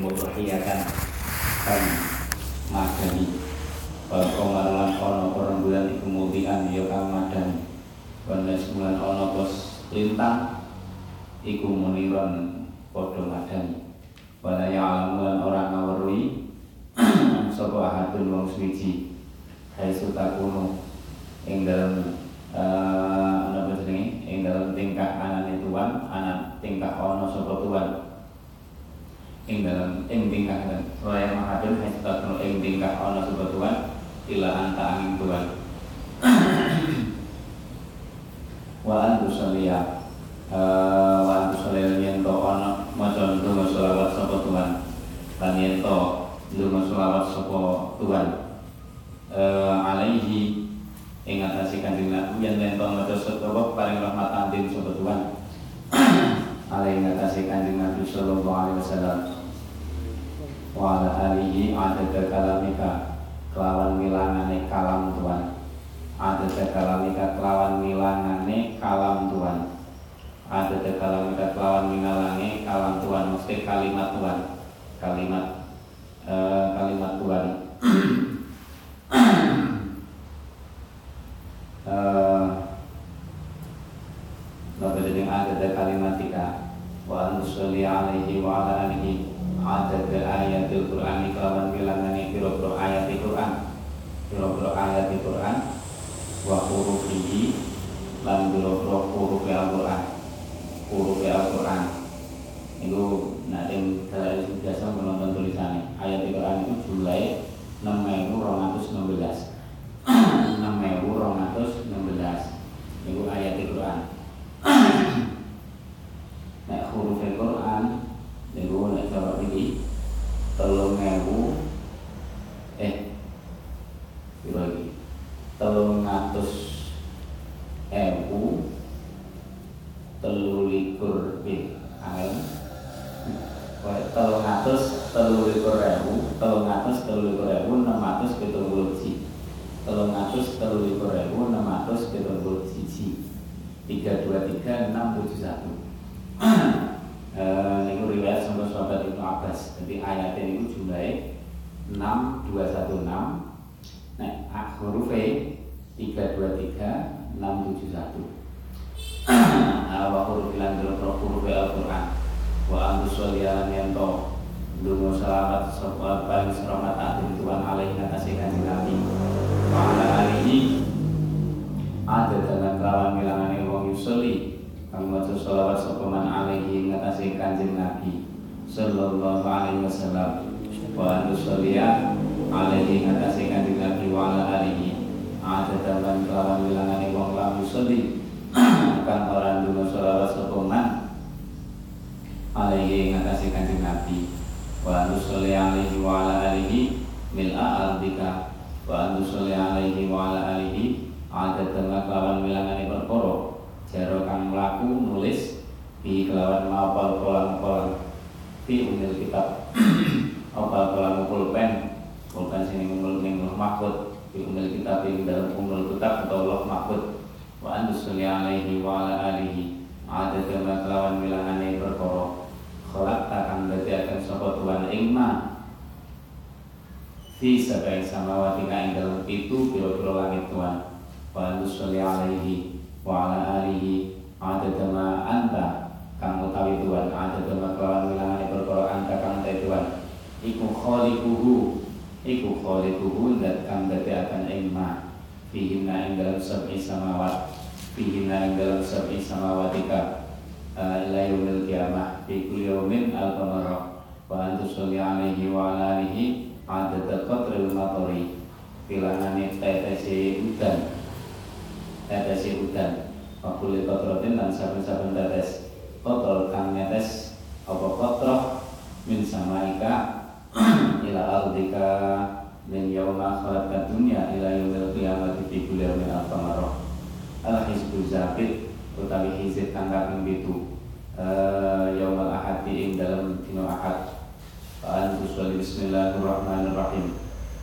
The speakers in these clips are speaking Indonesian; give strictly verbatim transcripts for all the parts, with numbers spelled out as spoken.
mudhiyatan kan madani wal qamar lan ana rembulan iku mudhian ya kang madani wanas bulan ana pos lintang iku muniron padha madani wala ya'lamu lan ora ngawruhi sapa ahadun wong suci hai sutakunu ing dalem ana apa jenenge ing dalem tingkah anane tuan anak tingkah ana sapa tuan ing dalem ing tingkah dan wala mahadun hai sutakunu ing tingkah ana sapa tuan ila anta angin tuan wa antu saliyah wa antu saliyah yen to ana maca ndonga selawat sapa tuan lan yen to ndonga selawat sapa tuan alaihi ing atase Kanjeng Nabi yen yen to maca selawat paring rahmat antin sapa tuan alaihi ing atase Kanjeng Nabi sallallahu alaihi wasallam wa ala alihi adada kalamika kelawan milangane kalam tuan adada kalamika kelawan milangane kalam tuan adada kalamika kelawan milanganane kalam tuan mesti kalimat tuan kalimat uh, kalimat tuan uh, Nabi jadi adada kalimatika wa anusli alaihi wa ala alihi adada ayatul Qur'ani kelawan milangane pira-pira ayat Al-Qur'an pira-pira ayat Al-Qur'an wa hurufihi lan pira-pira huruf Al-Qur'an huruf Al-Qur'an itu nanti kalau biasa menonton tulisannya ayat Al-Qur'an itu jumlahnya enam ribu dua ratus enam belas enam ribu dua ratus enam belas itu ayat Al-Qur'an. Nek huruf Al-Qur'an itu nek coba ini telung ewu eh piro iki telung atus ewu telulikur pin angel telung atus telulikur ewu telung atus telulikur ewu enam atus pitung puluh siji telung atus telulikur ewu enam atus pitung puluh siji tiga dua tiga enam tujuh satu ini riwayat sampai sahabat Ibnu Abbas jadi ayatnya ini jumlahnya enam dua satu enam nah hurufnya tiga dua tiga enam tujuh satu wa huruf ilan dulu huruf Al-Quran wa antus waliyalan yanto dungu salamat sopal paling selamat atin Tuhan alaihi ngatasi Kanjeng Nabi wa ala alihi ada dalam kelawan milangane wong yusoli kang maca selawat sapa man alaihi ngatasi Kanjeng Nabi sallallahu alaihi wasallam wa antus waliya alaihi ngatasi Kanjeng Nabi wa ala alihi ada dalam kelawan milangane wong lam yusoli kang ora ndonga selawat sapa man alaihi ngatasi Kanjeng Nabi wa nusalli alaihi wa ala alihi mil'a ardika wa nusalli alaihi wa ala alihi ada tengah kelawan milangane perkara jaro kang mlaku nulis di kelawan mapal kolang-kolang di umil kitab opal kolang pulpen pulpen sini umul ning mahfud di umil kitab ing dalam umul kitab atau loh mahfud wa nusalli alaihi wa ala alihi ada tengah kelawan milangane perkara kholak takkan berarti akan sapa Tuhan ingma fi sabai samawati ing dalam itu pira-pira langit Tuhan wa nusalli alaihi wa ala alihi adada ma anta kang utawi Tuhan adada ma kelawan wilangane perkara anta kang te Tuhan iku khaliquhu iku khaliquhu zat kang berarti akan ingma fihi ing dalam sab'i samawat fihi ing dalam sab'i samawatika ila yaumil qiyamah fi kulli yaumin al-qamara wa antusalli alaihi wa ala alihi adada qatril matari bilangane tetese udan tetese udan wa kulli qatratin lan saben-saben tetes qatrul kang netes apa qatrah min samaika ila ardika min yauma khalaqad dunya ila yaumil qiyamati fi kulli yaumin al-qamara al-hizbu zabit utawi hizib kang kaping pitu yaumul ahad ing dalam dina ahad wa antusalli bismillahirrahmanirrahim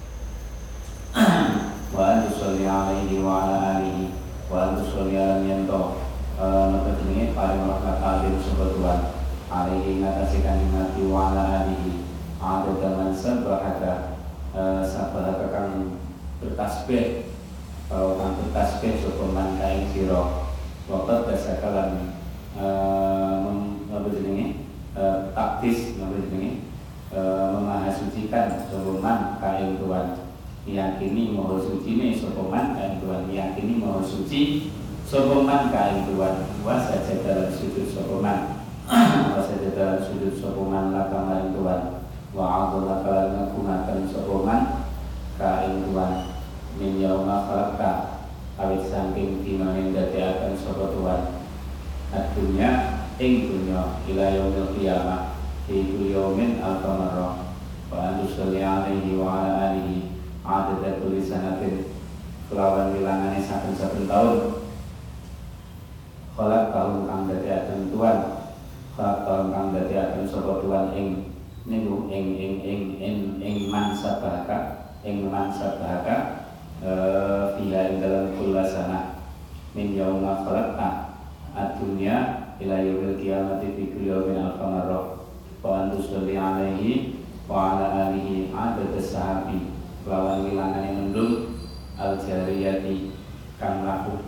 wa antusalli alaihi wa ala alihi wa antusalli ala yanto napa jenenge paring rahmat alim sapa Tuhan alaihi ngatasi Kanjeng Nabi wa ala alihi ada zaman sabahaka sabahaka kang bertasbih kalau kang bertasbih sopeman kain siro waktu dasakalan apa jenenge taktis apa jenenge memahasucikan sopeman kain tuan meyakini maha suci ne sopeman kain tuan meyakini maha suci sopeman kain tuan wasa dalam sujud sopeman wasa dalam sujud sopeman laka maring tuan wa'adullah kalan ngagumakan sopeman kain tuan min yauma khalaqta awit saking dina ing dadiaken sapa tuan adunya ing dunya ila yaumil qiyamah iku yaumin al-qamara wa antusalli alaihi wa ala alihi adada kulli sanatin kelawan wilangane saben-saben taun khalaq tahun kang dadiaken tuan khalaq tahun kang dadiaken sapa tuan ing niku ing ing ing ing ing mansa bahaka ing mansa bahaka fiha ing dalam kulla sana min yauma khalaqta ad-dunya ila yaumil qiyamati fi kulli yawmin al-qamara wa antusalli alaihi wa ala alihi adada sahabi lawan wilangane mendung al-jariyati kang laku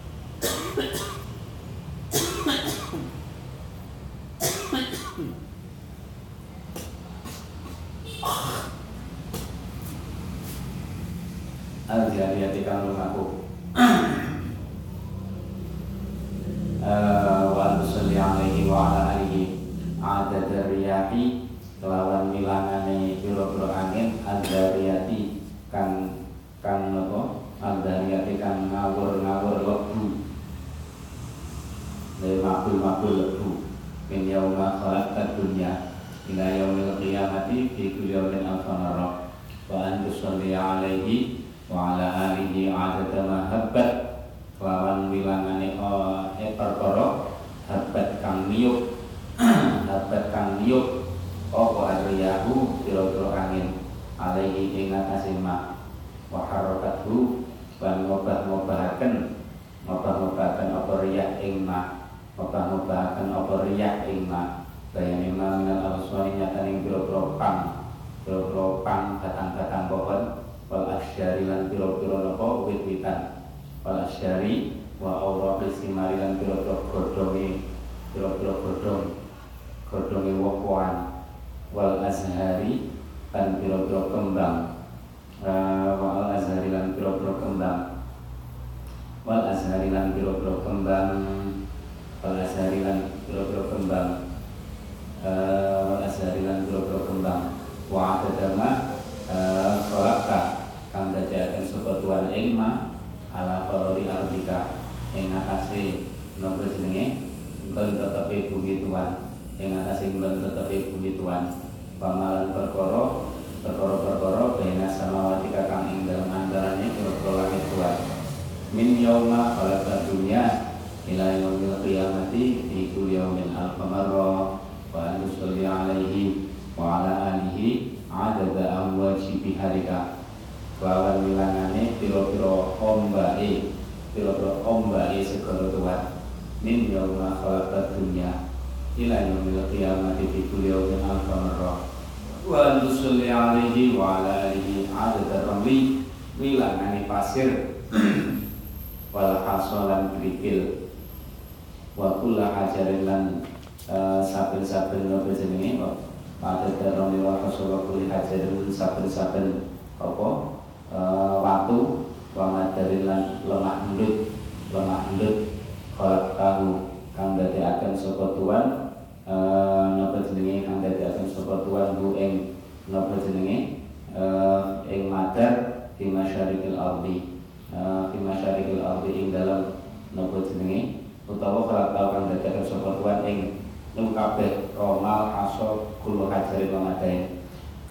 al-jariyati kang lumaku wa antusalli alaihi wa ala alihi adada riyahi kelawan milangane pira-pira angin al-jariyati kang kang napa al-jariyati kang ngawur-ngawur lebu le mabul-mabul lebu min yauma khalaqta dunya ila yaumil qiyamati fi kulli yawmin al-qamara wa antusalli alaihi wa ala alihi adada ma habbat lawan wilangane eh perkara habbat kang niup habbat kang niup apa arriyahu pira-pira angin alaihi ing atase ma wa harakathu lan ngobah-ngobahaken ngobah-ngobahaken apa riyah ing ma ngobah-ngobahaken apa riyah ing ma bayane ma minal aswani nyataning pira-pira pang pira-pira pang batang-batang pohon wal asyari lan pira-pira napa wit-witan wal asyari wa awraqis simari lan pira-pira godhonge pira-pira godhong godhonge woh-wohan wal azhari lan pira-pira kembang uh, wal azhari lan pira-pira kembang wal azhari lan pira-pira kembang wal azhari lan pira-pira kembang uh, wal azhari lan pira-pira kembang wa adama khalaqta kang dadiaken sapa tuan ing ma ala qalori ardika ing atase napa jenenge nggon tetepe bumi tuan ing atase nggon tetepe bumi tuan pamalan perkara perkara-perkara bena samawati kang ing dalem antarane pira-pira langit tuan min yauma khalaqta dunya ila yaumil qiyamati fi kulli yawmin al-qamara wa antusalli alaihi wa ala alihi adada amwaji biharika lawan wilangane pira-pira ombake pira-pira ombake segara tuan min yauma khalaqta dunya ila yaumil qiyamati fi kulli yawmin al-qamara wa antusalli alaihi wa ala alihi adada ramli wilangane pasir wal hasalan krikil wa kullu hajarin lan saben-saben napa jenenge pada dalam lewat Rasulullah kulli hajarin saben-saben apa watu wa madarilan lemah endut lemah endut khalaq tahu kang dadekaken sapa tuan napa jenenge kang dadekaken sapa tuan bu ing napa jenenge ing madar di masyarikil ardi di masyarikil ardi ing dalam napa jenenge utawa khalaq tahu kang dadekaken sapa tuan ing nung kabeh romal aso kulo hajari pamadain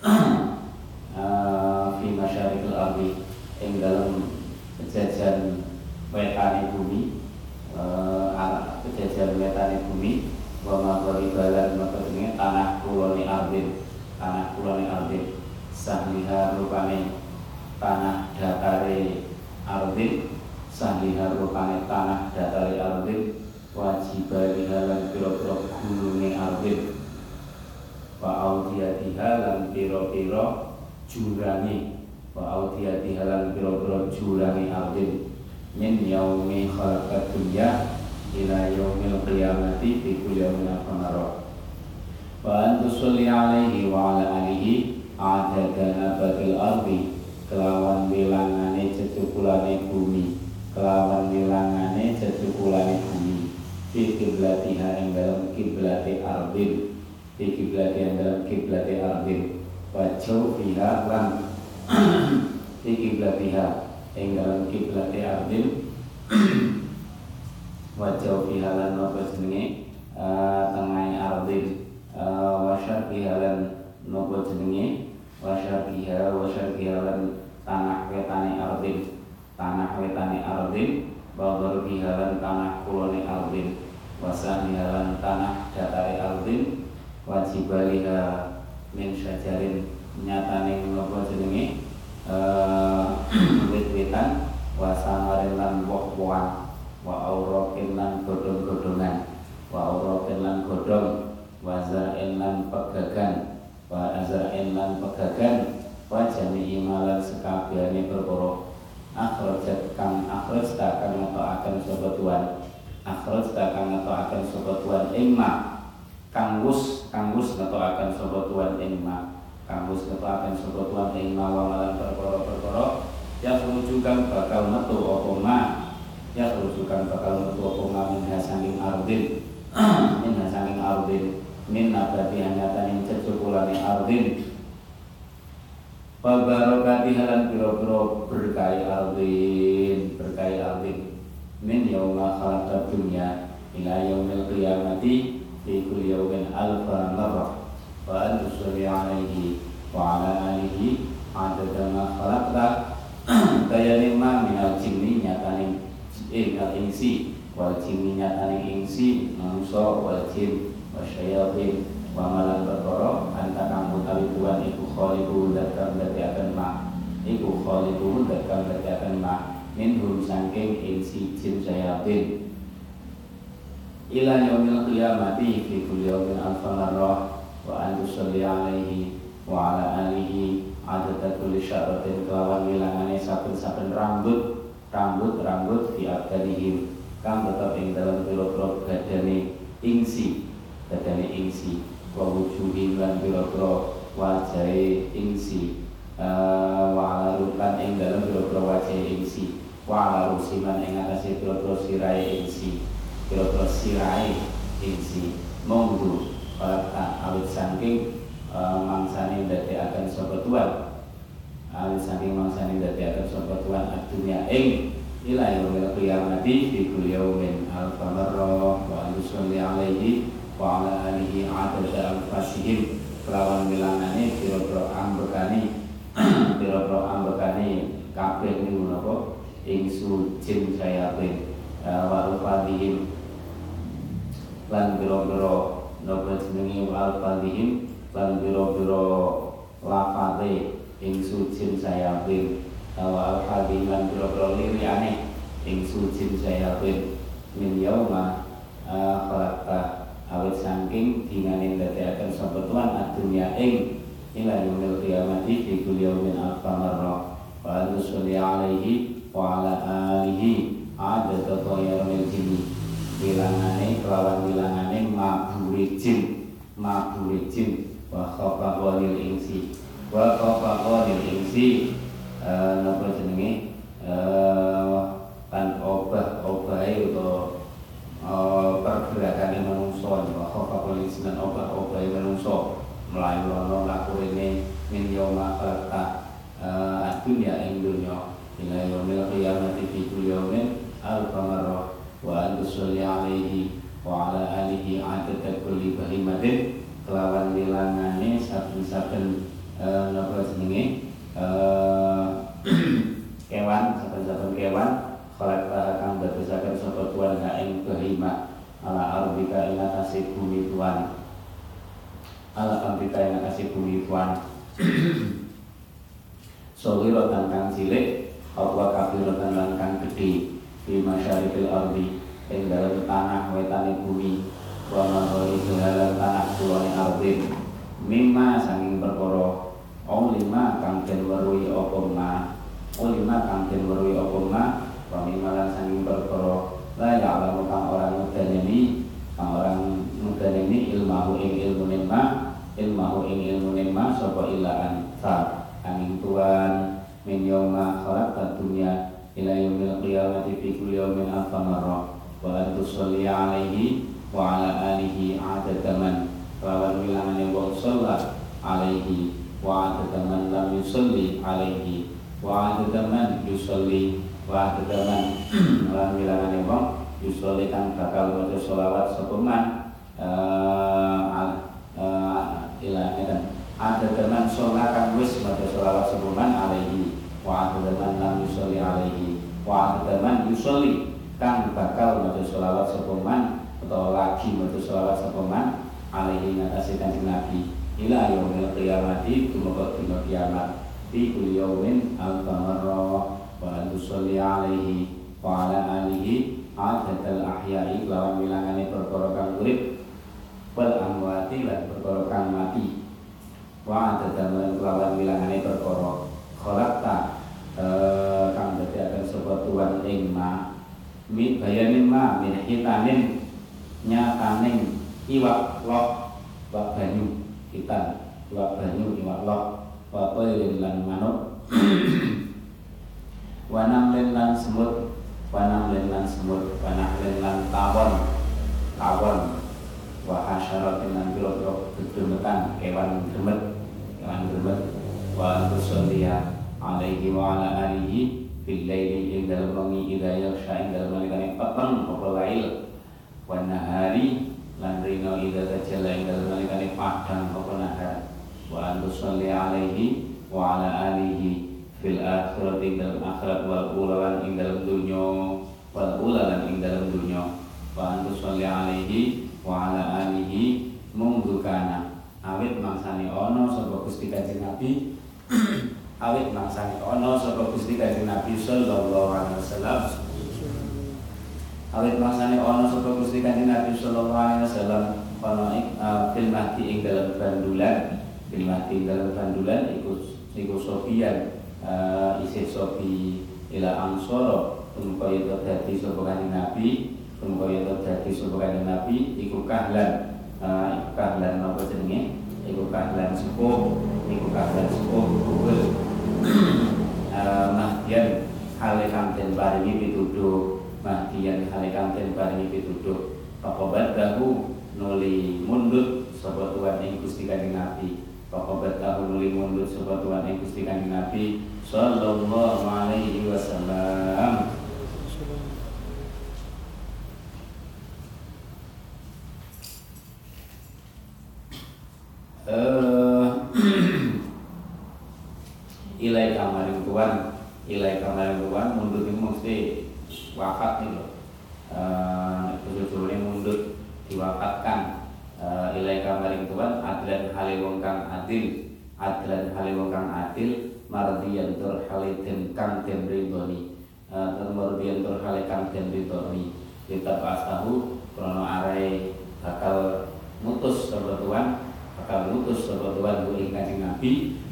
fi masyarikil ardi ing dalam kejajan wetane bumi anak kejajan wetane bumi wa maghrib balan maka jenenge tanah kulone ardin tanah kulone ardin sahliha rupane tanah datare ardin sahliha rupane tanah datare ardin wajibah dihalang pira-pira gununge ardin wa audiyatiha lan pira-pira jurangi wa audiyatiha lan pira-pira jurangi ardin min yaumi khalaqad dunya ila yaumil qiyamati fi kulli yawmin qamara wa an tusalli alaihi wa ala alihi adada nabatil ardi kelawan bilangane cecukulane bumi kelawan bilangane cecukulane bumi fi kiblatiha ing dalam kiblati ardin fi kiblati ing dalam kiblati ardin wa jawfiha lan fi kiblatiha ing dalam kiblati ardin wa jawfiha lan apa jenenge tengah ardin wa syarqiha lan napa jenenge wa syarqiha wa syarqiha lan tanah wetane ardin tanah wetane ardin wa gharbiha lan tanah kulone ardin wa samiha lan tanah datare ardin wa jibaliha min syajarin nyatane napa jenenge wit-witan wa samarin lan woh-wohan wa auraqin lan godhong-godhongan wa auraqin lan godhong wa zar'in lan pegagan wa azra'in lan pegagan wa jami'i malan sekabehane perkara akhrajat kang akhraj kang ngetokaken sapa tuan akhraj kang ngetokaken sapa tuan ing ma kang wus kang wus ngetokaken sapa tuan ing ma kang wus ngetokaken sapa tuan ing ma wa malan perkara-perkara ya rujukan bakal metu apa ma ya rujukan bakal metu apa ma min hasaning ardin min hasaning ardin min nabati hanyatan cecukulane ardin wa barakati halan pira-pira berkahi ardin berkahi ardin min yauma khalaqad dunya ila yaumil qiyamati fi kulli yawmin alfa marrah wa an tusalli alaihi wa ala alihi adada ma khalaqta kayane ma minal jinni nyatane ing insi wal jinni nyatane insi manusa wal jin wa syayatin wa malan perkara anta kang utawi tuan iku khaliqu dakam dadi akan ma iku khaliqu dakam dadi akan ma minhum saking insi jin syayatin ila yaumil qiyamati fi kulli yawmin alfa marrah wa an tusalli alaihi wa ala alihi adada kulli syaratin kelawan wilangane saben-saben rambut rambut rambut fi abdalihim kang tetep ing dalam pira-pira badane ingsi badane ingsi wa wujuhin lan pira-pira wajahe ingsi wa ala rukan ing dalam pira-pira wajahe ingsi wa ala rusiman ing atase pira-pira sirahe ingsi pira-pira sirahe ingsi monggo para awit saking mangsane ndadekaken sapa tuan awit saking mangsane ndadekaken sapa tuan adunya ing ila yaumil qiyamati fi kulli yawmin alfa marrah wa yusalli alaihi wa ala alihi adada al-fasihim kelawan bilangane pira-pira ambekane pira-pira ambekane kabeh niku napa ing sujin sayatin wa al-fadhihim lan pira-pira napa jenenge al-fadhihim lan pira-pira lafate ing sujin sayatin wa al-fadhihim lan pira-pira liriane ing sujin sayatin min yauma khalaqta awit saking dinane ndadekaken sapa tuan adunya ing ila yaumil qiyamati fi kulli yawmin alfa marrah wa nusalli alaihi wa ala alihi adada tayyaril jinni bilangane kelawan bilangane mabure jin mabure jin wa khafaqanil insi wa khafaqanil insi napa jenenge tan obah-obahe utawa pergerakan manungsa wa khafaqul insan obah-obah manungsa mlayu ana lakurene min yauma khalaqta adunya ing dunya ila yaumil qiyamati fi kulli yawmin alfa marrah wa an tusalli alaihi wa ala alihi adada kulli bahimatin kelawan bilangane saben-saben napa jenenge kewan saben-saben kewan khalaqta kang dadosaken sapa tuan ha ing bahimah ala arbika ing atase bumi tuan ala arbika ing atase bumi tuan sawiratan kang cilik apa kabiratan lan kang gedhe di masyarikil ardi ing dalem tanah wetane bumi wa magharibil lan tanah kulone ardin mimma sanging perkara oh lima kang den weruhi apa ma oh lima kang den weruhi apa ma wa mimma lan sanging perkara la ya'lamu kang orang mudani kang orang mudani ilmahu ing ilmu ma ilmahu ing ilmu ma sapa illa anta angin tuan min yauma khalaqat dunya ila yaumil qiyamati fi kulli yawmin alfa marrah wa an tusalli alaihi wa ala alihi adadaman lawan wilangane wong sholat alaihi wa adadaman lam yusalli alaihi wa adadaman yusalli wa adadaman lawan wilangane wong yusalli kang bakal maca sholawat sapa man ila edan adadaman sholat kang wis maca sholawat sapa man alaihi wa adadaman lam yusalli alaihi wa adadaman yusalli kang bakal maca sholawat sapa man atau lagi maca sholawat sapa man alaihi ngatasi kanjeng Nabi ila yaumil qiyamati tumeka dina kiamat fi kulli yaumin alfa marra wa an tusalli alaihi wa ala alihi adatal ahya'i lawan wilangane perkara kang urip wal amwati lan perkara kang mati wa adadal lawan wilangane perkara khalaqta kang dadiaken sapa tuan ing ma mi bayanin ma min hitanin nyataning iwak lok iwak banyu hitan iwak banyu iwak lok wa qailin lan manuk wa namlen lan semut wa namlen lan semut wa namlen lan tawon tawon wa hasyaratin lan pira-pira gedemetan kewan gemet kewan gemet wa tusalliya alaihi wa ala alihi fil laili ing dalem wengi idza yaksha ing dalem nalikane peteng apa lail wa nahari lan rino idza tajalla ing dalem nalikane padang apa nahar wa tusalli alaihi wa ala alihi fil akhirati dalem akhirat wal ula ing dalem dunya wal ula lan ing dalem dunya wa tusalli alaihi wa ala alihi munggu kana awit mangsane ana sapa Gusti Kanjeng Nabi awit mangsane ana sapa Gusti Kanjeng Nabi sallallahu alaihi wasallam awit mangsane ana sapa Gusti Kanjeng Nabi sallallahu alaihi wasallam ana fil mahdi ing dalem bandulan fil mahdi ing dalem bandulan iku iku sofian isih sofi ila ansara tumkaya dadi sapa Kanjeng Nabi tumkaya dadi sapa Kanjeng Nabi iku kahlan iku kahlan apa jenenge iku kahlan sepuh iku kahlan sepuh kubul mahdian hale kang den paringi pituduh mahdian hale kang den paringi pituduh pakobat dahu nuli mundut sapa tuan ing Gusti Kanjeng Nabi pakobat dahu nuli mundut sapa tuan ing Gusti Kanjeng Nabi sallallahu alaihi wasallam ilai kamaring tuan ilai kamaring tuan mundut itu mesti wafat nih loh tujuh-tujuhnya mundut diwafatkan ilai kamaring tuan adlan hale wong kang adil adlan hale wong kang adil mardiyan tur hale den kang den ridhoni tur mardiyan tur hale kang den ridhoni kitab asahu krono arai bakal mutus sapa tuan bakal mutus sapa tuan ku ing Kanjeng Nabi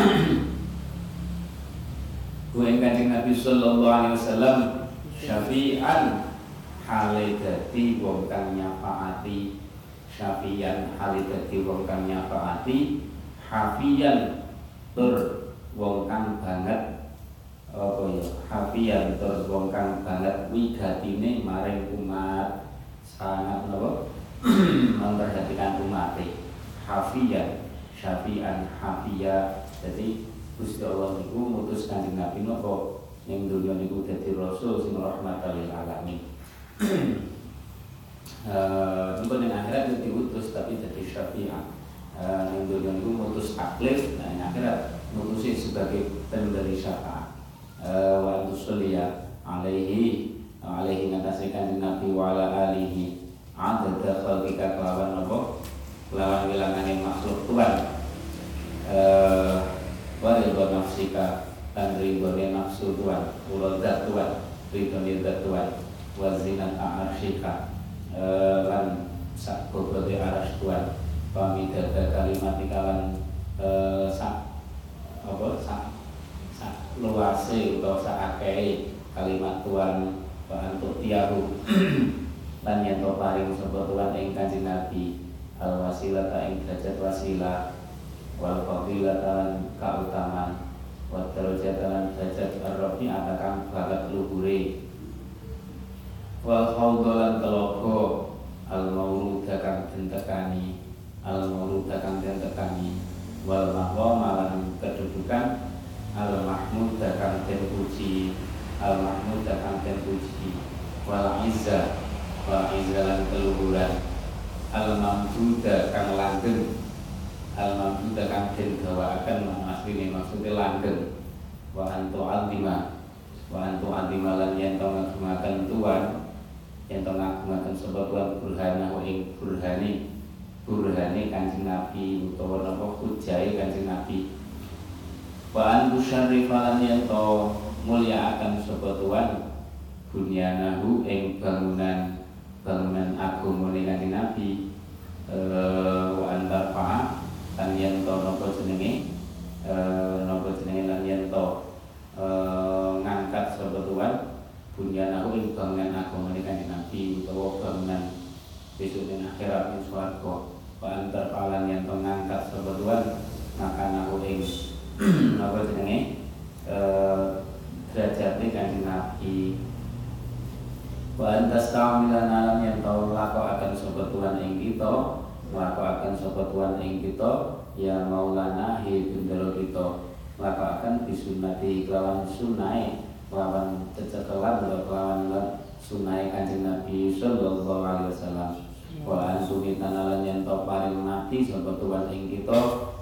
ku ing Kanjeng Nabi sallallahu alaihi wasallam syafi'an hale dadi wong kang nyafaati syafi'an hale dadi wong kang nyafaati hafiyan tur wong kang banget apa ya hafiyan tur wong kang banget wigatine maring umat sangat napa memperhatikan umat hafiyan syafi'an hafiya jadi Gusti Allah niku mutus Kanjeng Nabi napa ning dunya niku dadi rasul sing rahmatan lil alamin. Eh niku ning akhirat yo diutus tapi dadi syafi'an. Eh ning dunya niku mutus taklif, nah ning akhirat mutusi sebagai pemberi syafaat. Eh wa tusalliya alaihi alaihi ngatasi Kanjeng Nabi wa ala alihi adada khalqika kelawan napa kelawan wilangane makhluk Tuhan. Eh waridwa nafsika dan ridhone nafsu Tuhan ula zat Tuhan ridhone zat Tuhan wa zinata arsyika lan sak bobote arsy Tuhan pamidada kalimat ikalan eh, sak apa sak sak luase utawa sak akehe kalimat Tuhan wa antuk tiyahu lan yen to paring sapa Tuhan ing Kanjeng Nabi al wasilata ing derajat wasilah wal fadilata lan kautaman wa darajatan lan derajat ar-rafi kang banget luhure wal khawdalan telogo al mauruda kang den tekani al mauruda kang den tekani wal maqama lan kedudukan al mahmud kang den puji al mahmud kang den puji wal izza wal izza lan keluhuran al mamduda kang langgeng al mamduda kang den gawakaken asline maksude langgeng wa antu altima wa antu altima lan yen to ngagungaken Tuhan yen to ngagungaken sapa Tuhan burhana ing burhane burhane Kanjeng Nabi utawa napa hujahe Kanjeng Nabi wa an musyarrifa lan yen to mulyakaken sapa Tuhan bunyanahu ing bangunan bangunan agamane Kanjeng Nabi eh wa antarfa lan yen to napa jenenge eh napa jenenge lan yen to eh ngangkat sapa Tuhan bunyanahu ing bangunan agamane Kanjeng Nabi utawa bangunan besok ing akhirat ing swarga wa antarfa lan yen to ngangkat sapa Tuhan makanahu ing napa jenenge eh derajate Kanjeng Nabi wa antas ta'amilan alam yang tau lako akan sobat Tuhan ing kita lako akan sobat Tuhan ing kita ya maulana hi bendera kita lako akan bisunati kelawan sunai kelawan cecekelan kelawan sunai Kanjeng Nabi sallallahu alaihi wasallam wa ansuni tanalan yang tau paring mati sobat Tuhan ing kita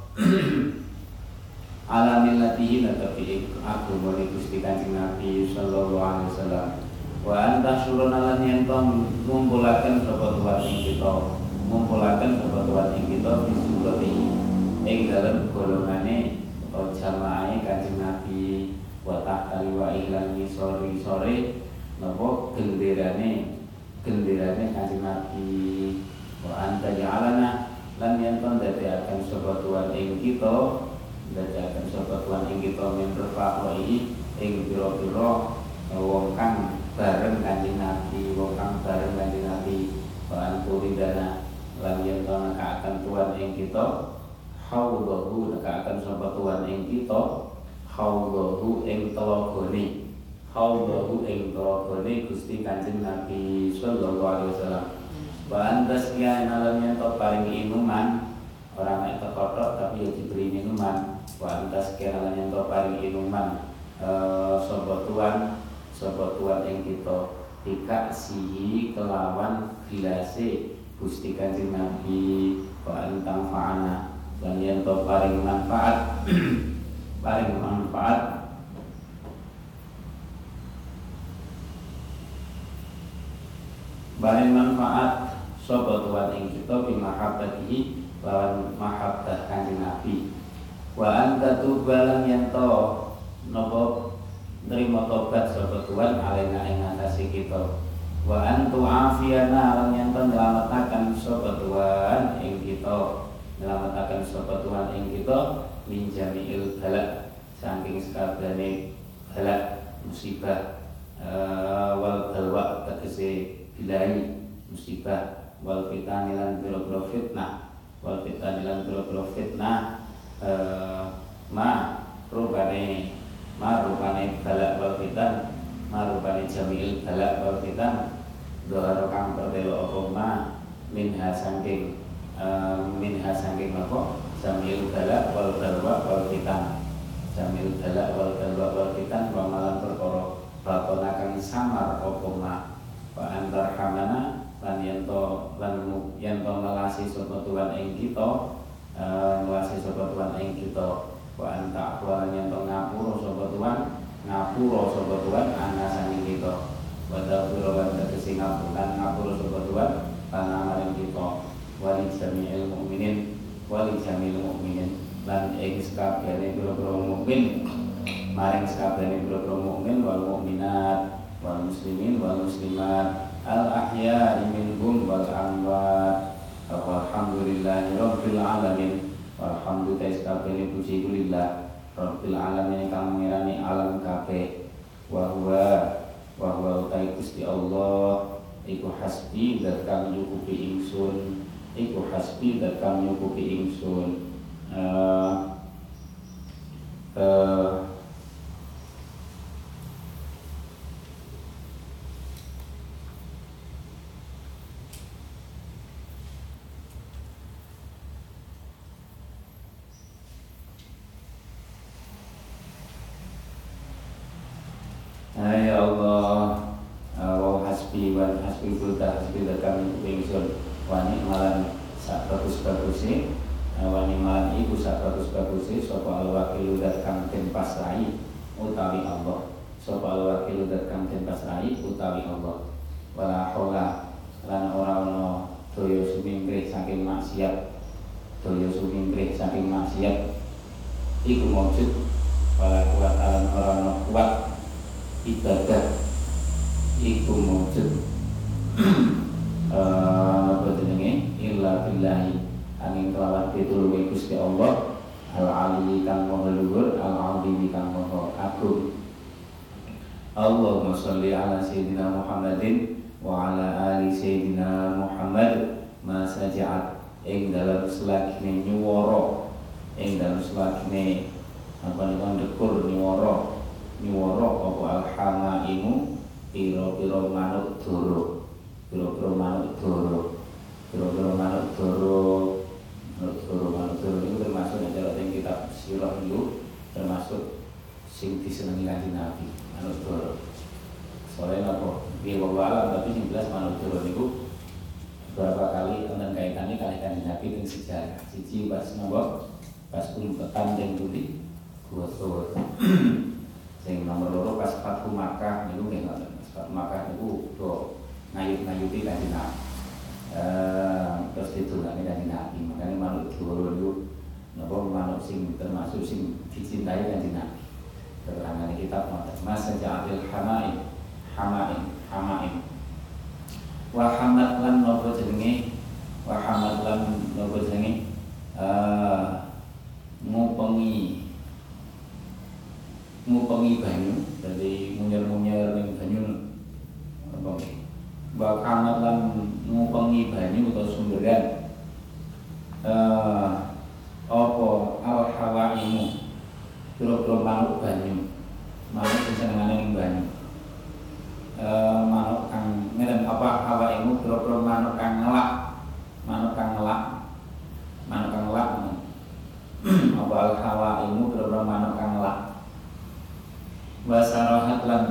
alamillatihi natabi agama Gusti Kanjeng Nabi sallallahu alaihi wasallam wa anta suruna lan yen to ngumpulaken sapa Tuhan ing kita ngumpulaken sapa Tuhan ing kita bisulati ing dalem golongane utawa jamaahe Kanjeng Nabi wa tahta wa ihlan sore sore napa genderane genderane Kanjeng Nabi wa anta ja'alana lan yen to dadekaken sapa Tuhan ing kita dadekaken sapa Tuhan ing kita min rafaqi ing pira-pira wong kang bareng Kanjeng Nabi, wong kang bareng Kanjeng Nabi, bahan puridana lan yen to nekakaken Tuhan ing kita, haudhu nekakaken sapa Tuhan ing kita, haudhu ing telagane, haudhu ing telagane Gusti Kanjeng Nabi sallallahu alaihi wasallam. Bahan tasqiya lan yen to paring inuman, ora mek tekotok tapi ya diberi minuman. Bahan tasqiya lan yen to paring inuman eh sapa Tuhan sapa Tuhan ing kita tika sihi kelawan gilase Gusti Kanjeng Nabi wa antang fa'ana lan yen to paring manfaat paring manfaat paring manfaat sapa Tuhan ing kita bi mahabbatihi lawan mahabbah Kanjeng Nabi wa anta tubalan yen to napa nerima tobat sapa Tuhan alena ing atase kita wa antu afiyana lan yen nylametaken sapa Tuhan ing kita nylametaken sapa Tuhan ing kita min jami'il balak saking sakabehane balak musibah uh, wal balwa tegese bilai musibah wal fitani lan biro-biro fitnah wal fitani lan biro-biro fitnah uh, ma rubane marupane balak wal fitan marupane jami'il balak wal fitan doharo kang pertelo apa ma minha sangking uh, minha sangking apa jami'il balak wal balwa wal fitan jami'il balak wal balwa wal fitan wa malan perkara bakona kang samar apa ma wa antar hamana lan yanto lan yanto melasi sapa Tuhan ing kita uh, melasi sapa Tuhan ing kita wa anta aqwalan yen to ngapura sapa Tuhan ngapura sapa Tuhan ana saking kita wa tafsir lan tegese ngapura ngapura sapa Tuhan ana maring kita wali jami'il mukminin wali jami'il mukminin lan ing sakabehane pira-pira mukmin maring sakabehane pira-pira mukmin wal mukminat wal muslimin wal muslimat al ahya'i minhum wal amwat Alhamdulillahi rabbil alamin. Walhamdu ta'ala puji kulillah rabbil alamin kang ngerani alam kabeh. Wa huwa wa huwa utai Gusti Allah iku hasbi dat kang nyukupi ingsun. Iku hasbi dat kang nyukupi ingsun. Uh, uh, Ya Allah, wa hasbi wa hasbi kulta hasbi kami ingsun wani malan sak bagus-baguse wani malan iku sak bagus-baguse sapa al-wakil dat kang den pasrahi utawi Allah sapa al-wakil dat kang den pasrahi utawi Allah wala haula lan ora ana daya sumingkrih saking maksiat daya sumingkrih saking maksiat iku maujud wala kuat lan ora ana kuat ibadah iku mujud apa jenenge illa billahi angin kelawan pitulunge Gusti Allah al-ali kang maha luhur al-azim kang maha agung. Allahumma sholli ala sayyidina Muhammadin wa ala ali sayyidina Muhammad ma saja'at ing dalam selagine nyuwara ing dalam selagine apa niku ndekur nyuwara nyuwara apa al-hamaimu piro-piro manuk doro piro-piro manuk doro piro-piro manuk doro manuk doro manuk doro itu termasuk yang dalam kitab sirah itu termasuk sing disenengi kanjeng Nabi manuk doro soalnya apa biar wawalan tapi yang jelas manuk doro itu beberapa kali tentang kaitannya kali kanjeng Nabi dengan sejarah siji pas nombor pas umpetan yang tuli gua doro sing nomor loro pas Fathu Makkah niku nggih ngoten. Fathu Makkah niku do ngayut-ngayuti kanjeng Nabi. Eh terus ditulungi kanjeng Nabi. Makane manuk doro niku napa manuk sing termasuk sing dicintai kanjeng Nabi. Keterangan kitab ngoten. Mas ja'alil hamain hamain hamain. Wa hamad lan napa jenenge? Wa hamad lan napa jenenge? Eh ngupengi ngupengi banyu dari munyer-munyer ning banyu apa wa kamat lan ngupengi banyu atau sumberan eh apa al hawaimu kira-kira manuk banyu manuk sing senengane ning banyu eh manuk kang ngene apa hawaimu kira-kira manuk kang ngelak manuk kang ngelak manuk kang ngelak apa al hawaimu kira-kira manuk kang ngelak wasarahat lan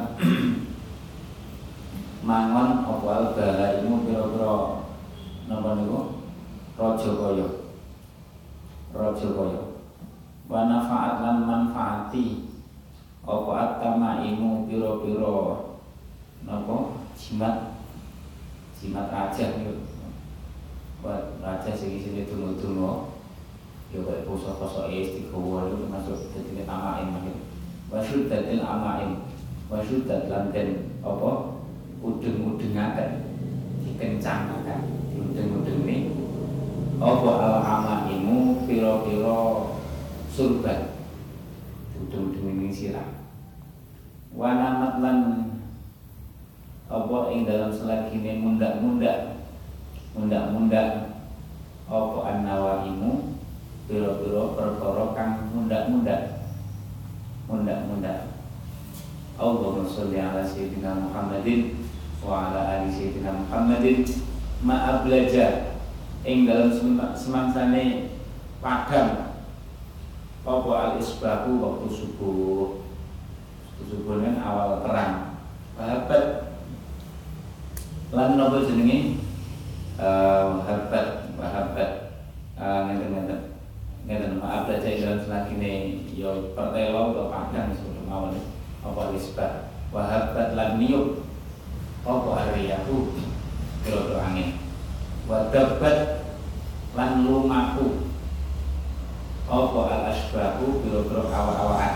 mangon opal balaimu pira-pira napa niku raja kaya raja kaya wa nafaat lan manfaati apa atamaimu pira-pira napa jimat jimat raja niku buat raja sing isine dungo-dungo ya kaya poso-poso istiqomah itu termasuk dadi tamain mangke wasyuddatil amain wasyuddat lan den apa udeng-udengaken dikencangkan diudeng-udenge apa al amaimu pira-pira surban udeng-udeng ning sirah wanamat lan apa ing dalam selagine mundak-mundak mundak-mundak apa annawaimu pira-pira perkara kang mundak-mundak mundak-mundak. Allahumma sholli ala sayyidina Muhammadin wa ala ali sayyidina Muhammadin ma ablaja ing dalam semangsane padang apa al-isbahu waktu subuh subuh kan awal terang wahabat lan napa jenenge wahabat wahabat ngeten-ngeten ngeten maaf aja dalam selagine yo pertelo atau padang sebelum awal apa isbat wahabat lan niup apa ariyaku kira-kira angin wadabat lan lumaku apa al asbahu kira-kira awak-awakan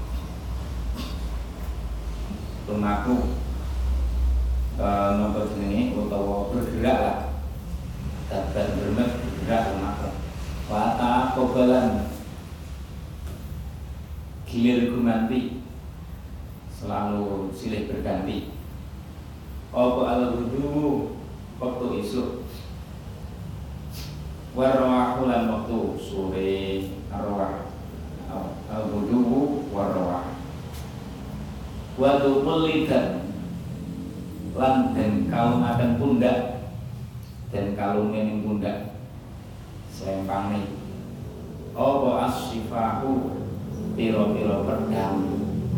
lumaku e, nopo jenenge utawa bergerak lah dapat bermet bergerak rumah. Wa taqabbalan gilir gumanti selalu silih berganti. Apa al-wudu waktu isuk warwahu lan waktu sore arwah al-wudu warwah wa tuqlidan lan den kalumaken pundak den kalungen pundak selempane apa as-sifahu piro-piro pedang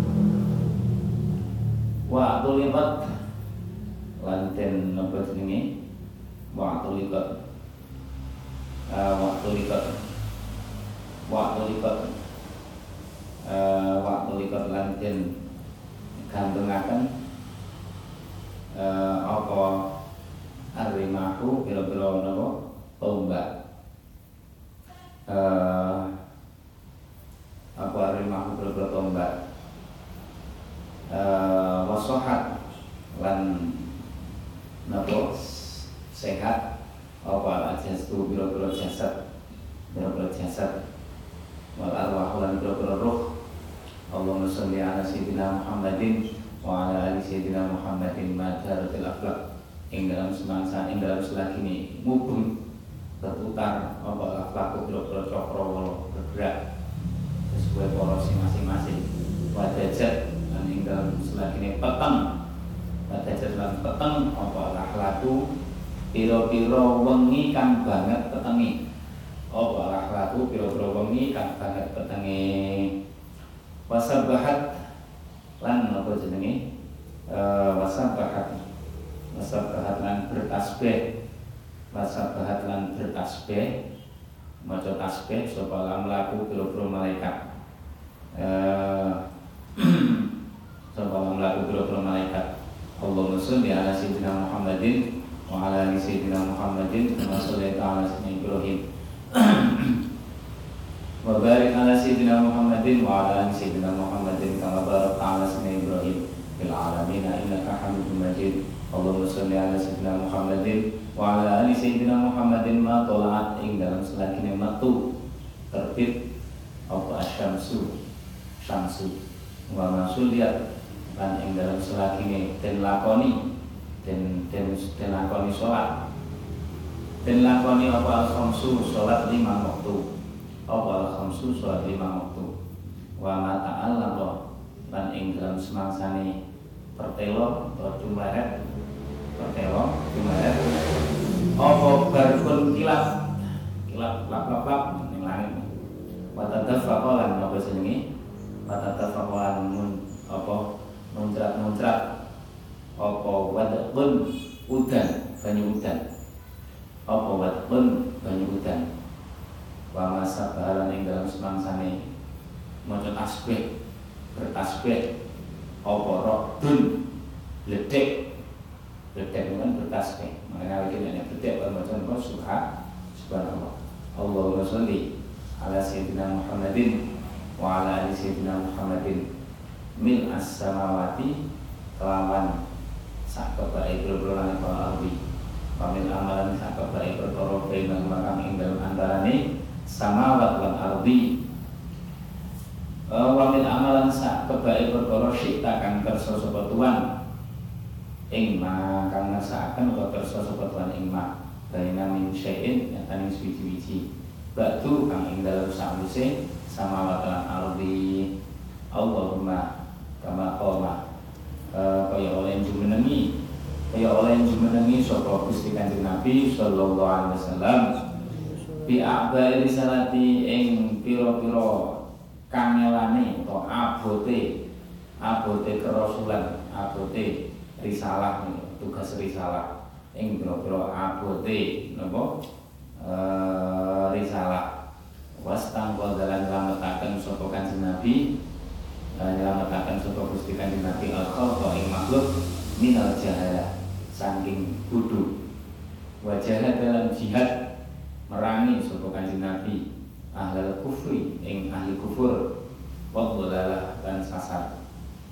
wa tulibat lan den napa jenenge wa tulibat uh, wa tulibat wa tulibat uh, wa tulibat lan den gantungaken uh, apa arimahu piro-piro napa tombak uh, apa arimahu piro-piro tombak uh, wasohat lan napa sehat apa ajas tu biro-biro jasad biro-biro jasad wal arwah lan biro-biro roh. Allahumma sholli ala sayyidina Muhammadin wa ala ali sayyidina Muhammadin madharatil akhlaq ing dalam semangsa ing dalam selagini mubeng berputar apa akhlak biro-biro cakra bergerak sesuai porsi masing-masing. Wadajat lan ing dalam selagini peteng wadajat lan peteng apa akhlaku piro-piro wengi kang banget petengi apa akhlaku piro-piro wengi kang banget petengi. Wasabahat lan apa jenenge e, wasabahat wasabahat lan bertasbih wasabahat lan bertasbih maca tasbih sapa lan mlaku piro-piro malaikat eh sapa lan mlaku piro-piro malaikat. Allahumma sholli ala sayyidina Muhammadin wa ala ali sayyidina Muhammadin kama shallaita ala sayyidina Ibrahim wa barik ala sayyidina Muhammadin wa ala ali sayyidina Muhammadin kama barakta ala sayyidina Ibrahim fil alamin innaka Hamidum Majid. Allahumma sholli ala sayyidina Muhammadin wa ala ali sayyidina Muhammadin ma tolaat ing dalam selagine metu terbit apa asyamsu syamsu wa masuliyat lan ing dalam selagine den lakoni den den den lakoni salat den lakoni apa al-khamsu salat lima waktu apa al-khamsu salat lima waktu wa ma ta'allaq lan ing dalam semangsane pertelo atau jumlahet pertelo jumlahet apa barkun kilap kilap lap lap lap ning langit wa tadaffaqa lan apa jenenge wa tadaffaqa mun apa muncrat-muncrat apa wadqun udan banyu udan apa wadqun banyu udan wa masabalan ing dalam semangsane maca tasbih bertasbih apa rokdun ledek ledek kan bertasbih makanya lagi nek ledek maca apa subhan subhanallah. Allahumma sholli ala sayyidina Muhammadin wa ala ali sayyidina Muhammadin mil as-samawati kelawan sak kebaik berbulan langit wal ardi wa mil amalan sak kebaik perkara bainal makam ing dalem antarane samawat lan ardi wa mil amalan sak kebaik perkara syita kang kersa sapa tuan ing ma kang ngasakaken utawa kersa sapa tuan ing ma baina min syai'in nyatane suci-suci batu kang ing dalem sawise samawat lan ardi. Allahumma kama qoma kaya oleh jumenengi kaya oleh jumenengi sapa Gusti Kanjeng Nabi sallallahu alaihi wasallam bi a'bai risalati ing pira-pira kangelane utawa abote abote kerasulan abote risalah tugas risalah ing pira-pira abote napa eh risalah wastang dalan lametaken sapa Kanjeng Nabi nyelametaken sapa Gusti Kanjeng Nabi al-khalqa ing makhluk minal jahalah saking bodho wajah dalam jihad merangi sapa Kanjeng Nabi ahlul kufri ing ahli kufur wa dhalalah lan sasar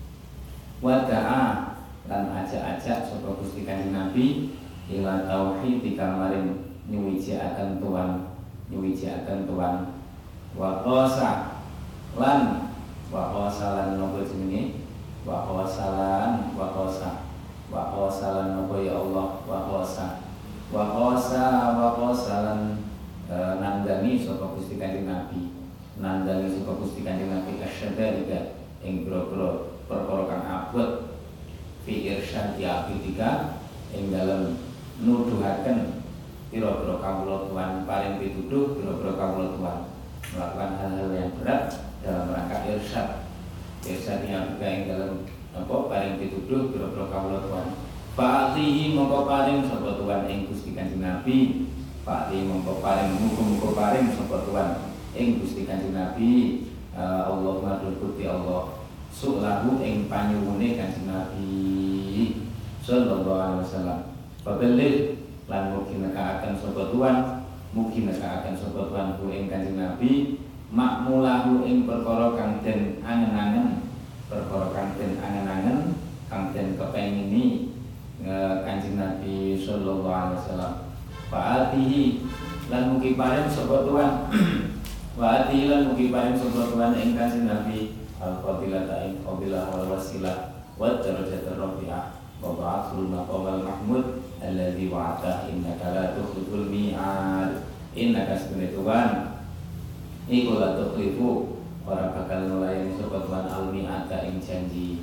wada'a lan ajak-ajak sapa Gusti Kanjeng Nabi ila tauhid dikamarin nyuwiji akan Tuhan nyuwijaken tuan wa qasa lan wa qasa lan nopo jenenge wa qasa lan wa qasa wa qasa lan nopo ya Allah wa qasa wa qasa wa qasa lan e, nandani sapa Gusti Kanjeng Nabi nandani sapa Gusti Kanjeng Nabi asyadalika ing boro-boro perkara kang abot fi irsyadi abidika ing dalem nuduhaken pira-pira kawula Tuhan paring pituduh pira-pira kawula Tuhan melakukan hal-hal yang berat dalam rangka irsyad irsyadnya abidika ing dalem apa paring pituduh pira-pira kawula Tuhan fa'atihi mongko paring sapa Tuhan ing Gusti Kanjeng Nabi fa'atihi mongko paring muga-muga paring sapa Tuhan ing Gusti Kanjeng Nabi uh, Allahumma Gusti Allah sulahu ing panyuwune Kanjeng Nabi sallallahu alaihi wasallam babelih lan mugi nekaaken sapa Tuhan mugi nekaaken sapa Tuhan ku ing Kanjeng Nabi makmulahu ing perkara kang den angen-angen perkara kang den angen-angen kang den kepengini Kanjeng Nabi sallallahu alaihi wasallam fa'atihi lan mugi paring sapa Tuhan wa'atihi lan mugi paring sapa Tuhan ing Kanjeng Nabi al-fadilata ing fadilah wal wasilah wa darajatur rafi'ah wa ba'athul maqamal mahmud alladzi wa'ata innaka la tukhliful mi'ad innaka sunni Tuhan iku la tukhlifu ora bakal nulayani sapa Tuhan al-mi'ata ing janji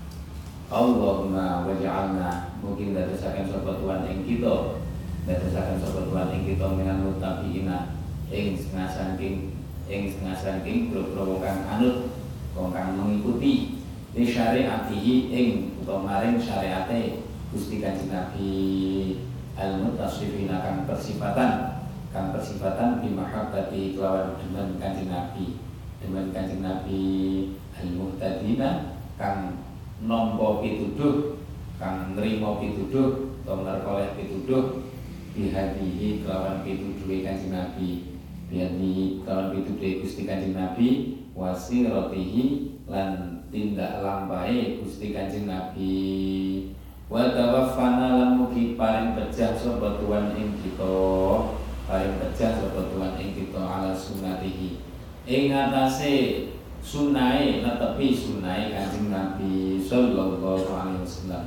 Allahumma waj'alna mungkin dadosaken sapa Tuhan ing kita dadosaken sapa Tuhan ing kita minal muttaqiina ing setengah saking ing setengah saking boro-boro kang anut wong kang mengikuti di syariatihi ing utawa maring syariate Gusti Kanjeng Nabi al-muttasifina kang persifatan kang persifatan bi mahabbati kelawan demen Kanjeng Nabi demen Kanjeng Nabi al-muhtadina kang nampa pituduh kang nrimo pituduh utawa ngerkoleh pituduh bihadihi kelawan pituduhe Kanjeng Nabi bihadihi kelawan pituduhe Gusti Kanjeng Nabi wasiratihi lan tindak lampahe Gusti Kanjeng Nabi wa tawaffana lan mugi paring pejah sapa Tuhan ing kita paring pejah sapa Tuhan ing kita ala sunnatihi ing atase sunahe netepi sunahe Kanjeng Nabi sallallahu alaihi wasallam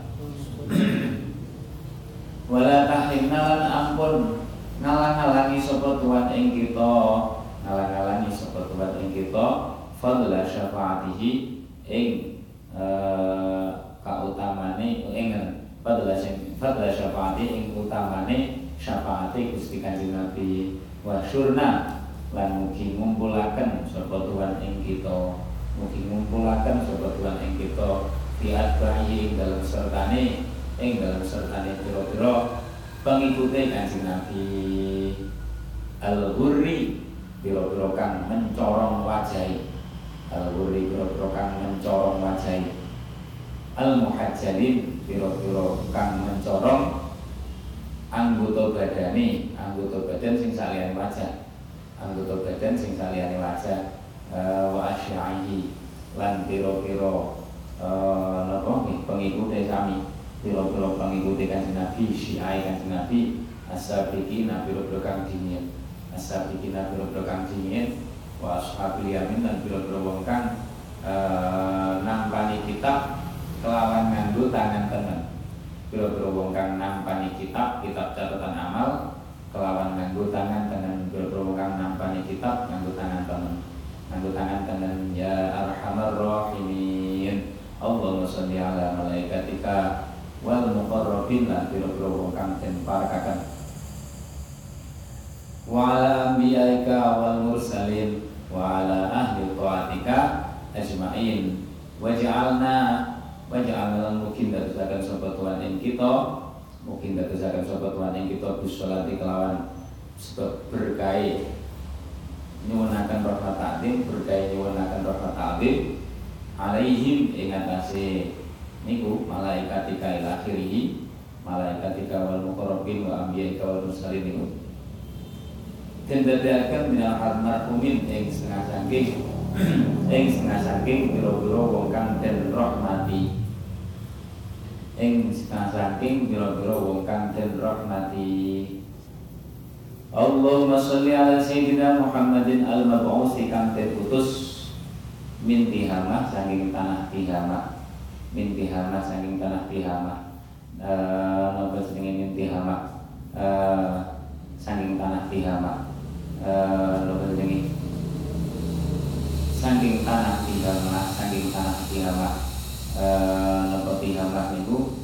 wala tahrimna lan ampun ngalang-alangi sapa Tuhan ing kita ngalang-alangi sapa Tuhan ing kita fadla syafaatihi ing uh, kautamane ing fadla fadla syafaati ing utamane syafaate Gusti Kanjeng Nabi wa syurna lan mugi ngumpulaken sapa Tuhan ing kita mugi ngumpulaken sapa Tuhan ing kita biat bayi ing dalam sertane ing dalam sertane pira-pira pengikute Kanjeng Nabi al-ghurri pira-pira kang mencorong wajahe al-ghurri pira-pira kang mencorong wajahe al-muhajjalin pira-pira kang mencorong anggota badane anggota badan sing saliyane wajah anggota badan sing saliyane wajah uh, wa asyaihi lan pira-pira uh, napa pengikute sami pira-pira pengikute Kanjeng Nabi syiai Kanjeng Nabi as-sabiqina pira-pira kang dingin as-sabiqina pira-pira kang dingin wa ashabil yamin lan pira-pira wong kang uh, nampani kitab kelawan nganggo tangan tengen pira-pira wong kang nampani kitab kitab catatan amal kelawan nganggo tangan tengen pira-pira wong kang nampani kitab nganggo tangan tengen nganggo tangan tengen ya arhamar rahimin Allahumma sholli ala malaikatika wal muqarrabin lan pira-pira wong kang den parakaken wa ala anbiyaika wal mursalin wa ala ahli taatika ajmain waj'alna waj'alna mungkin dadosaken sapa Tuhan ing kita mungkin dadosaken sapa Tuhan ing kita bisolati kelawan sebab berkahi nyuwunaken rahmat ta'zim berkahi nyuwunaken rahmat ta'zim alaihim ing atase niku malaikatika ila akhirih malaikatika wal muqarrabin wa anbiyaika wal mursalin niku den dadiaken minal almarhumin ing setengah saking ing setengah saking pira-pira wong kang den rahmati ing setengah saking pira-pira wong kang den rahmati Allahumma sholli ala sayyidina Muhammadin al-mab'usi kang terutus min Tihamah saking tanah Tihamah, min Tihamah saking tanah Tihamah, eh napa jenenge min Tihamah, eh saking tanah Tihamah, eh napa jenenge saking tanah Tihamah, saking tanah Tihamah, eh napa Tihamah niku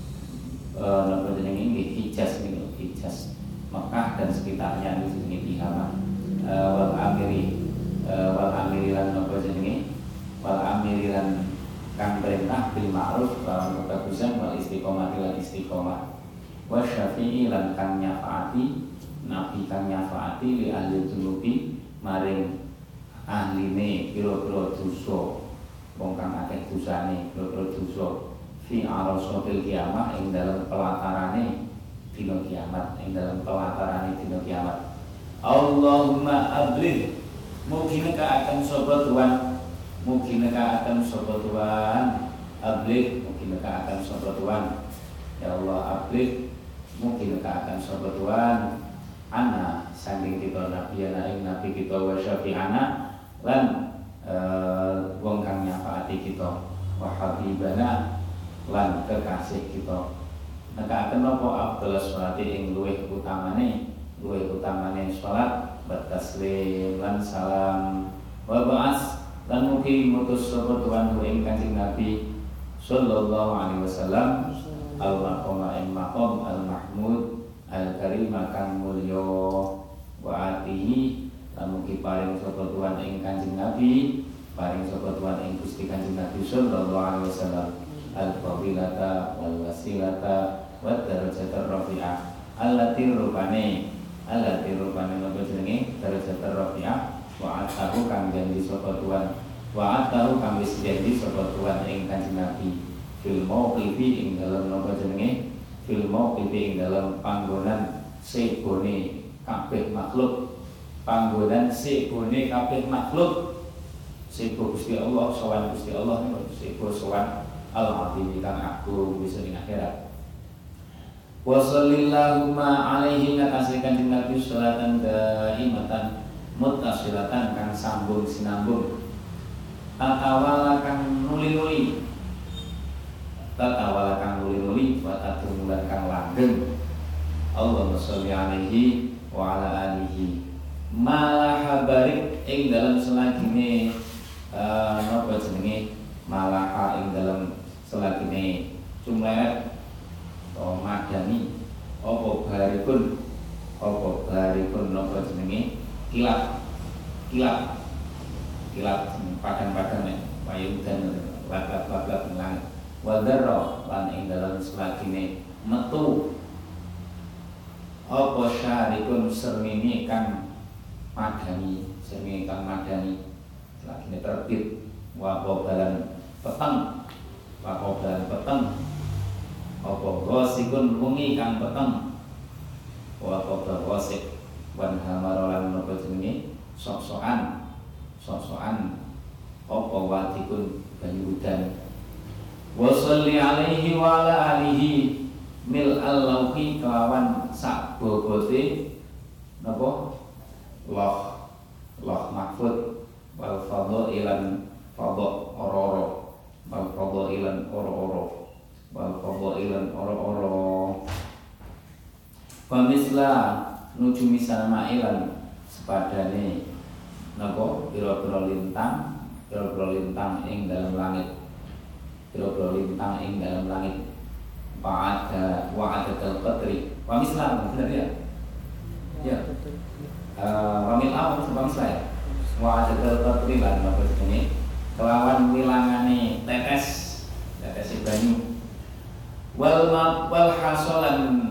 eh napa jenenge nggih Hijaz niku, Hijaz Mekah dan sekitarnya itu jenenge Tihamah. Uh, wal amiri uh, wal amiri lan napa jenenge wal amiri lan kang perintah bil ma'ruf lawan kebagusan wal istiqomah lan istiqomah wa syafi'i lan kang nyafaati nabi kang nyafaati li ahli dzunubi maring ahline pira-pira dosa wong kang akeh dosane pira-pira dosa fi arasatil kiamah ing dalem pelatarane dina kiamat, ing dalam pelatarane dina kiamat. Allahumma abligh mugi nekaaken sapa Tuhan, mugi nekaaken sapa Tuhan, abligh mugi nekaaken sapa Tuhan. Ya Allah abligh mugi nekaaken sapa Tuhan. Ana saking kita nabi ana ing nabi kita wa syafi'ana lan uh, wong kang nyafaati kita wa habibana lan kekasih kita. Nekaaken napa afdhalus sholati ing luwih utamane luwih utamane salat bertaslim lan salam wa ba'as lan mugi mutus sapa Tuhan ing Kanjeng Nabi sallallahu alaihi wasallam al maqama ing maqam al mahmud al karim kang mulya wa atihi lan mugi paring sapa Tuhan ing Kanjeng Nabi paring sapa Tuhan ing Gusti Kanjeng Nabi sallallahu alaihi wasallam al fadilata wal wasilata wa darajatar rafi'ah allati rupane allati rupane napa jenenge darajatar rafi'ah wa atahu kang janji sapa Tuhan wa atahu kang wis janji sapa Tuhan ing Kanjeng Nabi fil mauqifi ing dalem napa jenenge fil mauqifi ing dalem panggonan sebone kabeh makhluk panggonan sebone kabeh makhluk sebo Gusti Allah sowan Gusti Allah sebo sowan al-azim kang agung bisa ing akhirat. Wa sallallahu alaihi ngakasih Kanjeng Nabi sholatan daimatan muttasilatan kang sambung sinambung tatawala kang nuli-nuli tatawala kang nuli-nuli wa tatumulan kang langgeng. Allahumma sholli alaihi wa ala alihi malaha barik ing dalam selagine uh, napa jenenge malaha ing dalam selagine cumleret oh madani apa barikun apa barikun napa jenenge kilat kilat kilat padang-padang nek wayung dan lagat-lagat nang wadara lan ing dalam selagine metu apa syarikun sermini kang madani sermini kang madani selagine terbit wa balan peteng wa balan peteng apa ghasikun wengi kang peteng wa apa ghasik wan hamarolan napa jenenge sok-sokan sok-sokan apa watikun banyu udan wa sholli alaihi wa ala alihi mil al-lauhi kelawan sak bobote napa loh loh mahfud wal fadhailan fadha ora-ora wal fadhailan ora-ora wal fadhailan ora-ora pamisla nuju misana ilan sepadane napa pira-pira lintang pira-pira lintang ing dalam langit pira-pira lintang ing dalam langit wa'ada wa'adatul qadri pamisla benar ya ya wamil apa pamisla ya wa'adatul qadri lan napa jenenge kelawan wilangane tetes tetes banyu wal wal hasalan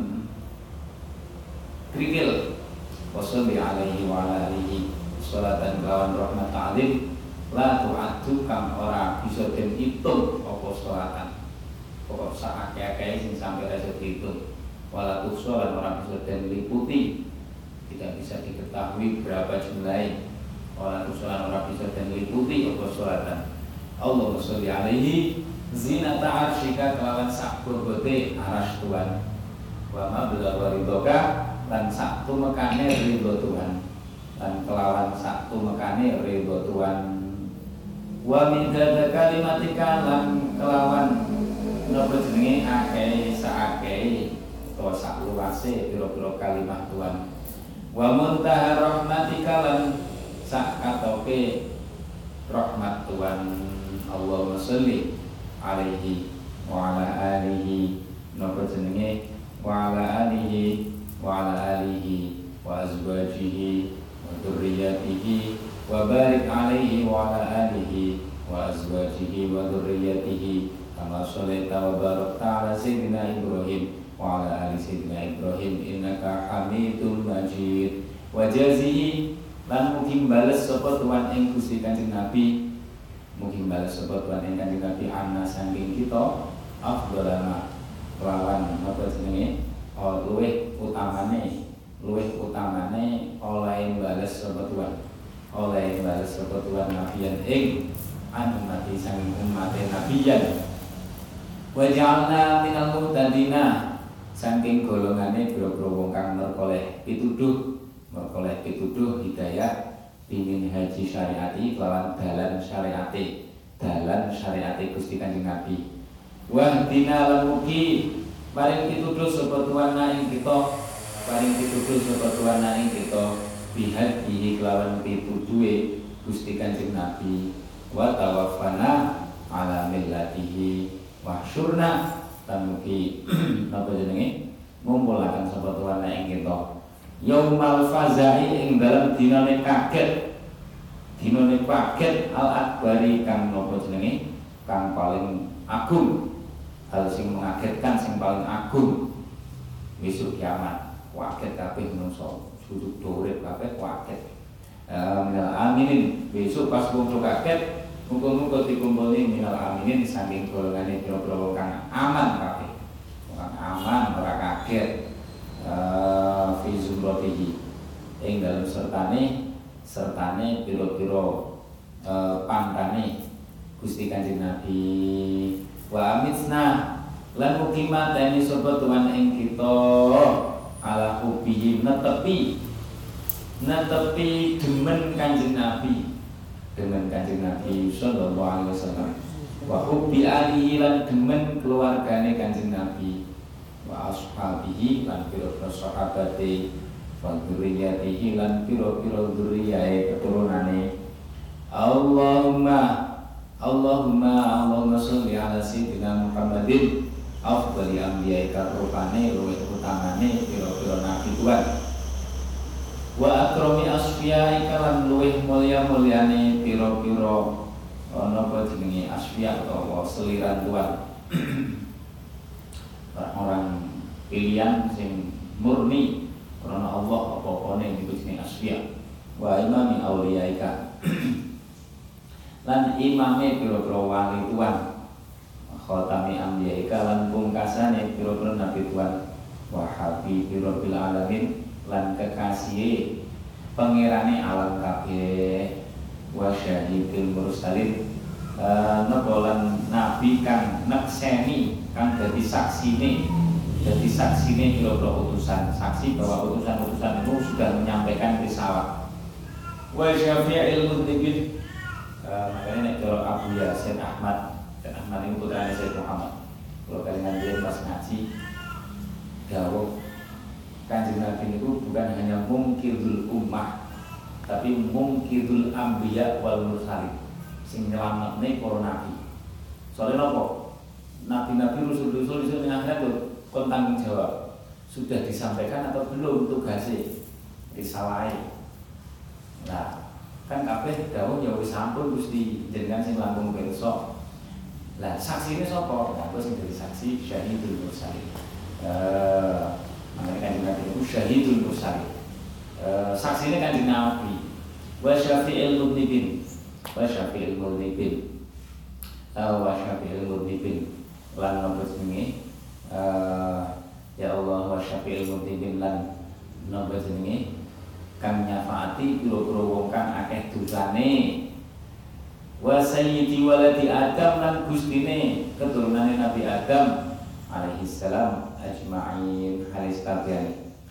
krikil wassalli alaihi wa ala alihi sholatan kelawan rahmat ta'lim la tu'addu kang ora bisa den itung apa sholatan pokok sak akeh-akeh sing sampai rasa dihitung wala tusolan ora bisa den liputi tidak bisa diketahui berapa jumlahnya wala tusolan ora bisa den liputi apa sholatan Allahumma sholli alaihi zinata arsyika kelawan sak bobote arasy Tuhan wa ma bila waridoka lan sak tumekane ridho Tuhan, lan kelawan sak tumekane ridho Tuhan. Wa min kalimatika lan kelawan napa jenenge akeh saakeh utawa sak luase pira-pira kalimat Tuhan. Wa muntaha rahmatika lan sak katoke rahmat Tuhan. Allahumma sholli alaihi wa ala alihi napa jenenge wa ala alihi wa ala alihi wa azwajihi wa dzurriyyatihi wa barik alaihi wa ala alihi wa azwajihi wa dzurriyyatihi kama sholaita wa barakta ala sayyidina Ibrahim wa ala ali sayyidina Ibrahim innaka Hamidum Majid. Wa jazihi lan mugi bales sapa Tuhan ing Gusti Kanjeng Nabi, mugi bales sapa Tuhan ing Kanjeng Nabi ana saking kita afdhalama kelawan apa jenenge oh, luwih utamane luwih utamane oleh bales sapa Tuhan oleh bales sapa Tuhan nabiyan ing anu nabi saking umat nabiyan. Wa ja'alna minal muhtadina saking golongane boro-boro wong kang merkoleh pituduh merkoleh pituduh hidayah bimin haji syariati kelawan dalan syariati dalan syariati Gusti Kanjeng Nabi. Wa dina lan mugi paring pituduh sapa Tuhan ing kita paring pituduh sapa Tuhan ing kita bihadihi kelawan pituduhe Gusti Kanjeng Nabi. Wa tawaffana ala millatihi wa syurna lan mugi napa jenenge ngumpulaken sapa Tuhan ing kita yaumal fazai ing dalam dinane kaget dinane kaget al akbari kang napa jenenge kang paling agung, hal sing mengagetkan sing paling agung besok kiamat. Kaget kabeh menungso sujud urip kabeh kaget. Minal aminin besok pas wong kaget muga-muga dikumpulni minal aminin saking golongane pira-pira wong kang aman kabeh. Wong aman ora kaget. Uh, fi zumratihi ing dalam sertane sertane pira-pira uh, pantane Gusti Kanjeng Nabi. Wa amitsna lan mugi mateni sapa Tuhan ing kita ala hubbihi netepi netepi demen Kanjeng Nabi demen Kanjeng Nabi sallallahu alaihi wasallam wa hubbi alihi lan demen keluargane Kanjeng Nabi wa ashabihi lan pira-pira sahabate wa dzurriyyatihi lan pira-pira dzurriyae keturunane. Allahumma Allahumma Allahumma sholli ala sayyidina Muhammadin afdhali anbiya'ika rupane luwih utamane pira-pira nabi Tuhan wa akrami asfiya'ika lan luwih mulya-mulyane pira-pira napa jenenge asfiya utawa seliran Tuhan orang pilihan sing murni karena Allah apa-apane niku jenenge asfiya wa imami auliyaika lan imame pira-pira wali Tuhan khatami anbiyaika lan pungkasane pira-pira nabi Tuhan wa habibir rabbil alamin lan kekasihe pangerane alam kabeh wa syahidil mursalin napa lan nabi kang nekseni kang dadi saksine dadi saksine pira-pira utusan saksi bahwa utusan-utusan itu sudah menyampaikan risalah. Wa syafi'il mudhibin makanya nek cara Abu Yasin Ahmad dan Ahmad ini putrane Sayyid Muhammad kalau kalian dia pas ngaji dawuh Kanjeng Nabi itu bukan hanya mungkidul ummah tapi mungkidul anbiya wal mursalin sing nyelametne para nabi. Soalnya nopo? Nabi-nabi rasul-rasul iso ning akhirat kon tanggung jawab. Sudah disampaikan atau belum tugasnya? Risalahe. Nah, kan kabeh dawuh ya wis sampun Gusti jenengan sing langkung pirsa. Lah saksine sapa? Nah, sing dadi saksi syahidul mursalin. Eh, makane kan Nabi itu syahidul mursalin. Eh, saksine kan Nabi. Wa syafi'il mudhibin. Wa syafi'il mudhibin. Wa syafi'il mudhibin. Lan napa jenenge? Eh, ya Allah wa syafi'il mudhibin lan napa jenenge? Kang nyafaati pira-pira wong kang akeh dosane wa sayyidi waladi Adam lan gustine keturunane Nabi Adam alaihi salam ajma'in halis kabehane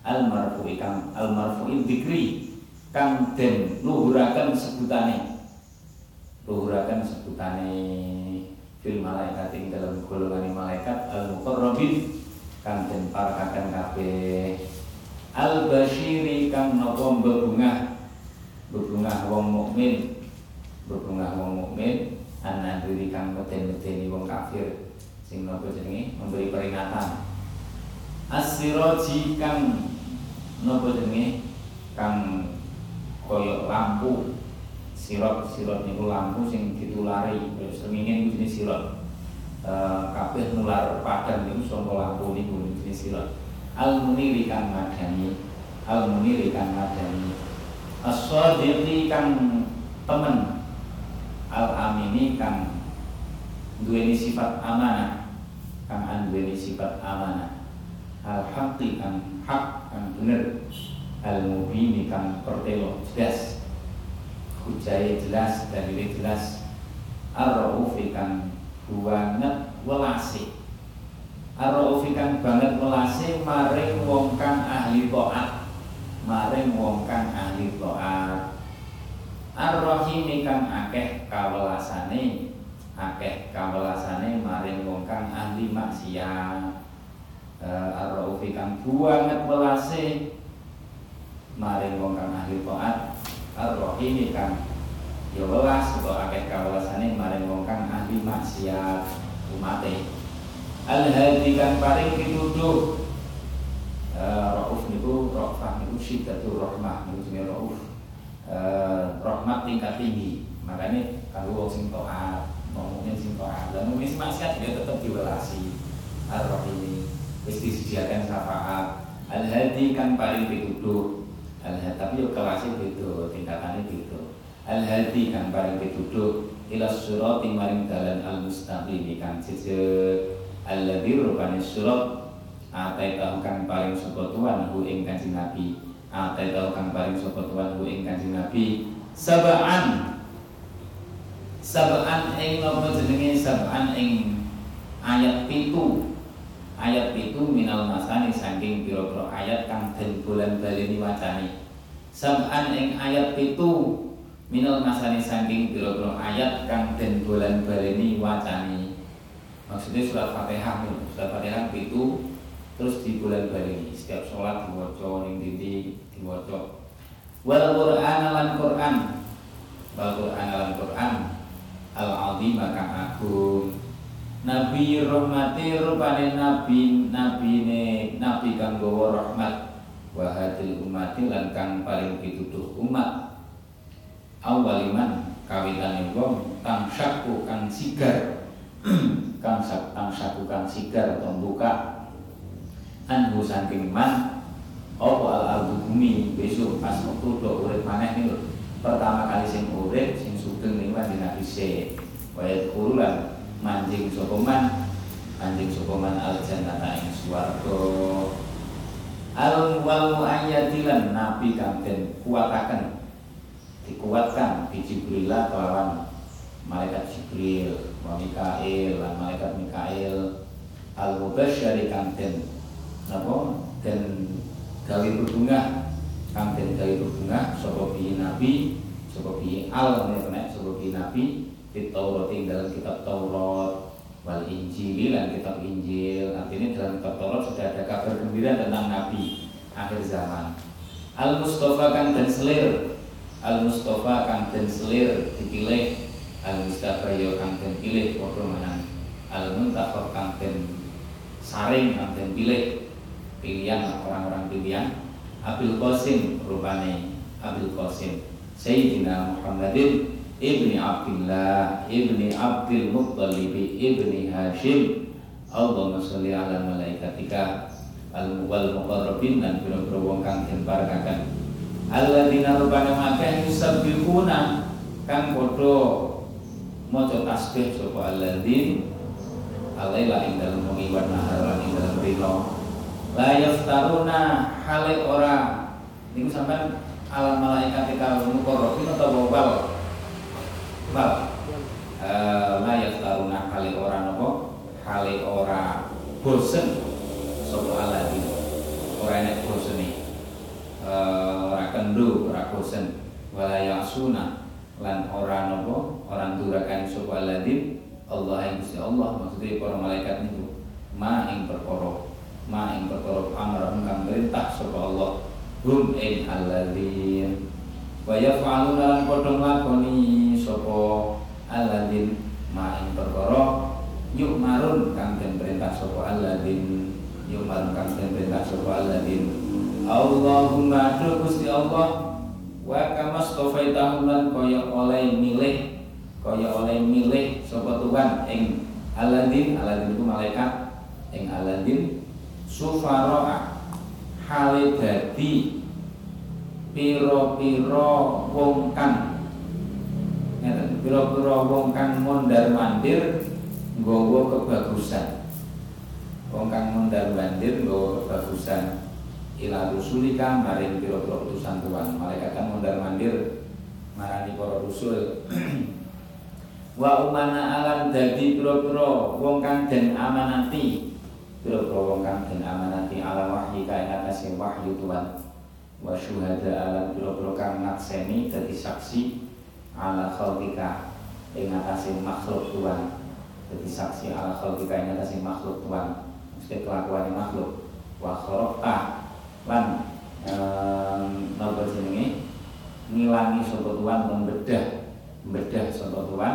al-marfu'i kang al-marfu'i dzikri kang den luhuraken sebutane luhuraken sebutane fil malaikat ing dalam golongan malaikat al-muqarrabin kang den parakaken kabeh al-basyiri kang napa bebungah bebungah wong mukmin bebungah wong mukmin ana diri kang meden-medeni wong kafir sing napa jenenge memberi peringatan as-siraji kang napa jenenge kang koyo lampu sirot sirot niku lampu sing ditulari srengenge niku jenis sirot e, kabeh nular padang niku saka lampu niku jenis sirot al-muniri kang madani al-muniri kang madani as-shadiqi kang temen al-amini kang duweni sifat amanah kang anduweni sifat amanah al-haqqi kang hak kang bener al-mubini kang pertelo jelas hujae jelas dalile jelas ar-raufi kang banget welase ar-raufi kang banget welase maring wong kang ahli taat maring wong kang ahli taat ar-rahimi kang akeh kawelasane akeh kawelasane maring wong kang ahli maksiat uh, ar-raufi kang banget welase maring wong kang ahli taat ar-rahimi kang ya welas utawa akeh kawelasane maring wong kang ahli maksiat umate al-hadi kang paring pituduh uh, rauf niku rafah niku syiddatur rahmah niku jenenge rauf uh, rahmat tingkat tinggi makanya kalau wong sing taat ngomongin sing taat lan wis maksiat dia tetep diwelasi ar-rahimi wis disediakan syafaat al-hadi kang paring pituduh al-hadi tapi yo kelasé beda tingkatane beda al-hadi kang paring pituduh ila sirati maring dalan al-mustaqim kang jejer alladzi rupane surat ataitahu kang paring sapa tuan hu ing Kanjeng Nabi ataitahu kang paring sapa tuan hu ing Kanjeng Nabi sab'an sab'an ing napa jenenge sab'an ing ayat pitu ayat pitu minal masani saking pira-pira ayat kang den bolan baleni wacane sab'an ing ayat pitu minal masani saking pira-pira ayat kang den bolan baleni wacane maksudnya surat Fatihah nih surat Fatihah pitu terus di bulan baleni setiap sholat diwaca ning dindi diwaca wal Qur'an lan Qur'an wal Qur'an lan Qur'an al-azim kang agung nabi rahmati rupane nabi nabine nabi kang gawa rahmat wa hadil ummati lan kang paling pituduh umat awaliman kawitane wong kang syaku kang sigar kang sak kang syaku kang sigar atau buka anhu saking man apa al-ardu bumi besok pas waktu do urip maneh niku pertama kali sing urip sing sugeng niku kanjeng Nabi se wayat kurulan manjing sapa man manjing sapa man al-jannata ing swarga al wal ayatilan nabi kang den kuataken dikuatkan di Jibril kelawan malaikat Jibril wa Mikail lan malaikat Mikail al-mubasysyir kang den napa den gawe berbunga kang den gawe berbunga sapa bi nabi sapa bi al nek sapa bi nabi di Taurat ing dalam kitab Taurat wal Injil dan kitab Injil artinya dalam kitab Taurat sudah ada kabar gembira tentang nabi akhir zaman al-mustafa kang den selir al-mustafa kang den selir dipilih al-mustafa yo kang den pilih padha menang al-muntakhab kang den saring kang den pilih pilihan orang-orang pilihan Abil Qasim rupane Abil Qasim Sayyidina Muhammadin ibni Abdillah ibni Abdul Muttalib ibni Hashim Allahumma sholli ala malaikatika al-wal muqarrabin dan biro-biro wong kang den barakaken alladzina rupane akeh yusabbihuna kang padha maca tasbih sapa alladzin alaila ing dalem wengi wa nahar lan ing dalem dina la yaftaruna hale ora niku sampean alam malaikat kal muqarrabin atau bawal bal eh la yaftaruna hale ora napa hale ora bosen sapa alladzin ora enek bosene mendo ora bosen wala yasuna lan ora napa orang durakan sapa aladin Allah yang Gusti Allah maksudnya para malaikat niku ma ing perkara ma ing perkara amrun kang perintah sapa Allah hum ing aladin wa yaf'aluna lan padha nglakoni sapa aladin ma ing perkara yuk marun kang den perintah sapa aladin yuk marun kang den perintah sapa aladin Allahumma tu Gusti Allah wa kama stofaitahum lan kaya oleh milih kaya oleh milih sapa Tuhan ing aladin aladin itu malaikat ing aladin sufara'a hale dadi pira-pira wong kang ngeten pira-pira wong kang mondar-mandir nggawa kebagusan wong kang mondar-mandir nggawa kebagusan ila rusulika maring pira-pira utusan Tuhan malaikat kan mondar-mandir marani para rasul wa umana alan dadi pira-pira wong kang den amanati pira-pira wong kang den amanati ala wahyi ka ing atase wahyu Tuhan wa syuhada alan pira-pira kang nakseni dadi saksi ala khalqika ing atase makhluk Tuhan dadi saksi ala khalqika ing atase makhluk Tuhan mesti kelakuane makhluk wa kharaqta lan napa jenenge ngilangi sapa Tuhan membedah membedah sapa Tuhan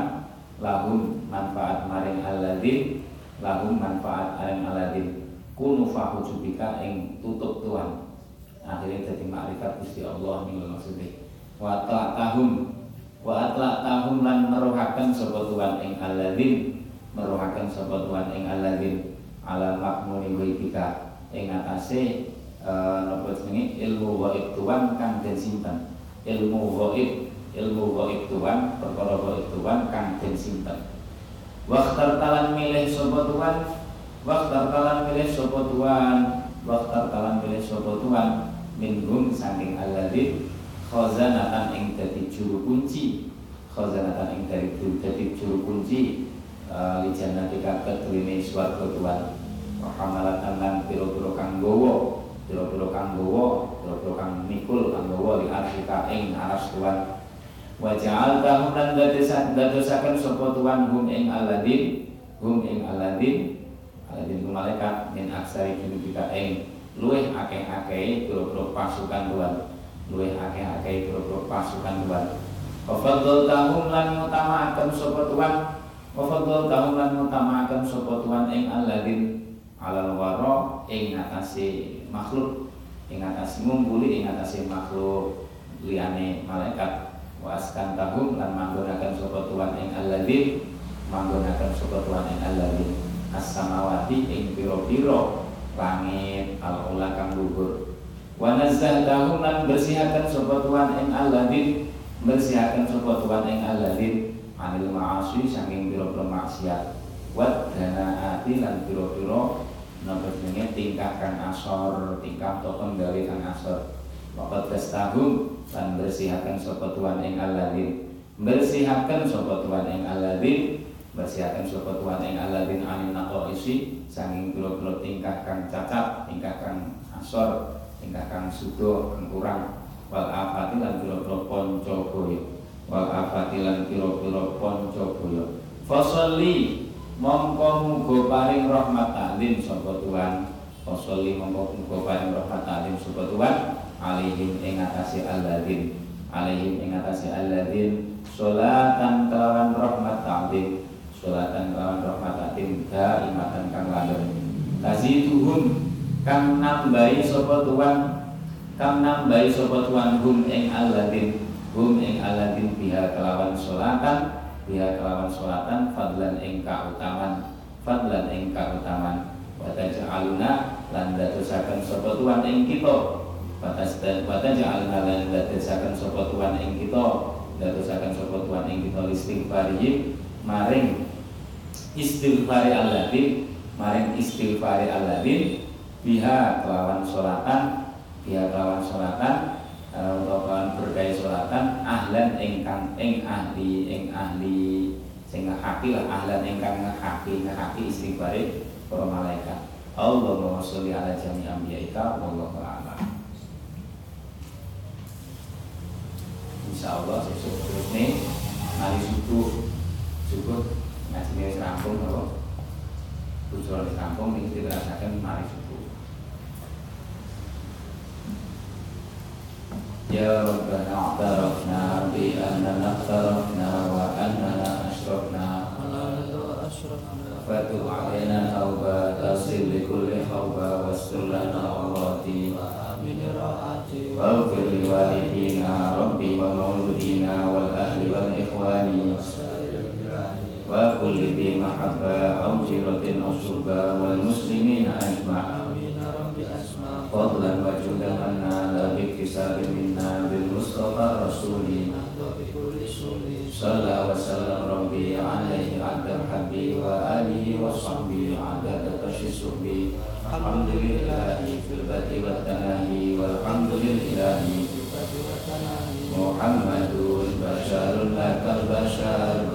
lahum manfaat maring aladin lahum manfaat maring aladin kunu fahujubika ing tutup Tuhan akhirnya jadi makrifat Gusti Allah niku maksudnya wa ta'tahum wa atla'tahum lan meruhaken sapa Tuhan ing aladin meruhaken sapa Tuhan ing aladin ala makmuni wibika ing atase napa jenenge ilmu gaib Tuhan kang den simpen ilmu gaib ilmu gaib Tuhan perkara gaib Tuhan kang den simpen waqtar talan milih sapa Tuhan waqtar talan milih sapa Tuhan waqtar talan milih sapa Tuhan minhum saking alladzi khazanatan ing dadi juru kunci khazanatan ing dadi juru kunci li jannatika kedrine swarga Tuhan wa hamalatan lan pira-pira kang gawa pira-pira kang gawa pira-pira kang mikul kang gawa li arsika ing aras Tuhan wa ja'altahum lan dadosaken sapa Tuhan hum ing aladin hum ing aladin aladin malaikat min aksari junubika ing luweh akeh-akeh pira-pira pasukan Tuhan luweh akeh-akeh pira-pira pasukan Tuhan wa fadhaltahum lan ngutamakaken sapa Tuhan wa fadhaltahum lan ngutamakaken sapa Tuhan ing aladin alal wara ing atase makhluk ing atase ngumpuli ing atase makhluk liyane malaikat waskan tahum lan manggonaken sapa Tuhan ing alladzi manggonaken sapa Tuhan ing alladzi as-samawati ing pira-pira langit al-ula kang luhur wa nazzahum lan bersihaken sapa Tuhan ing alladzi bersihaken sapa Tuhan ing alladzi anil ma'asi saking pira-pira maksiat wa danaati lan pira-pira napa jenenge tingkah kang asor tingkah to penggawe kang asor waqad tastahum lan bersihaken sapa Tuhan ing alladzi bersihaken sapa Tuhan ing alladzi bersihaken sapa Tuhan ing alladzi anin naqaisi saking pira-pira tingkah kang cacat tingkah kang asor tingkah kang sudo kang kurang wal afati lan pira-pira panca boyo wal afati lan pira-pira panca boyo fasalli mongko muga paring rahmat taklim sapa Tuhan fasalli mongko muga paring rahmat taklim sapa Tuhan alaihim ing atase alladzin alaihim ing atase alladzin sholatan kelawan rahmat ta'zim sholatan kelawan rahmat ta'zim daimatan kang langgeng taziduhum kang nambahi sapa Tuhan kang nambahi sapa Tuhan hum ing alladzin hum ing alladzin biha kelawan sholatan biha kelawan sholatan fadlan ing kautaman fadlan ing kautaman wa taj'aluna lan dadosaken sapa Tuhan ing kita batas dan batas ja'alna lan dadosaken sapa Tuhan ing kita dadosaken sapa Tuhan ing kita istighfari maring istighfari alladzin maring istighfari alladzin biha kelawan sholatan biha kelawan sholatan utawa kelawan berkait sholatan ahlan ingkang ing ahli ing ahli sing ngahaki lah ahlan ingkang ngahaki ngahaki istighfari para malaikat Allahumma sholli ala jami' anbiya'ika wallahu a'lam. insyaallah sesuk terusne mari subuh cukup ngajine wis rampung apa tujuan wis rampung iki dirasakan mari subuh. Ya Rabbana a'tarafna bi annana aqtarafna wa annana asyrafna fatu alaina tauba tasil li kulli khawba wastur lana awrati waghfir li walidina rabbi wa mauludina wal ahli wal ikhwani wa kulli bi mahabba aw jiratin aw surba wal muslimina ajma'in fadlan wa judan anna la biktisabin minna bil mustafa rasulina sallallahu wa sallam rabbi alaihi adda habbi wa alihi wa sahbihi adda tashisubi alhamdulillahi fil bati wa tanahi walhamdulillahi Muhammadun basharun lakal bashar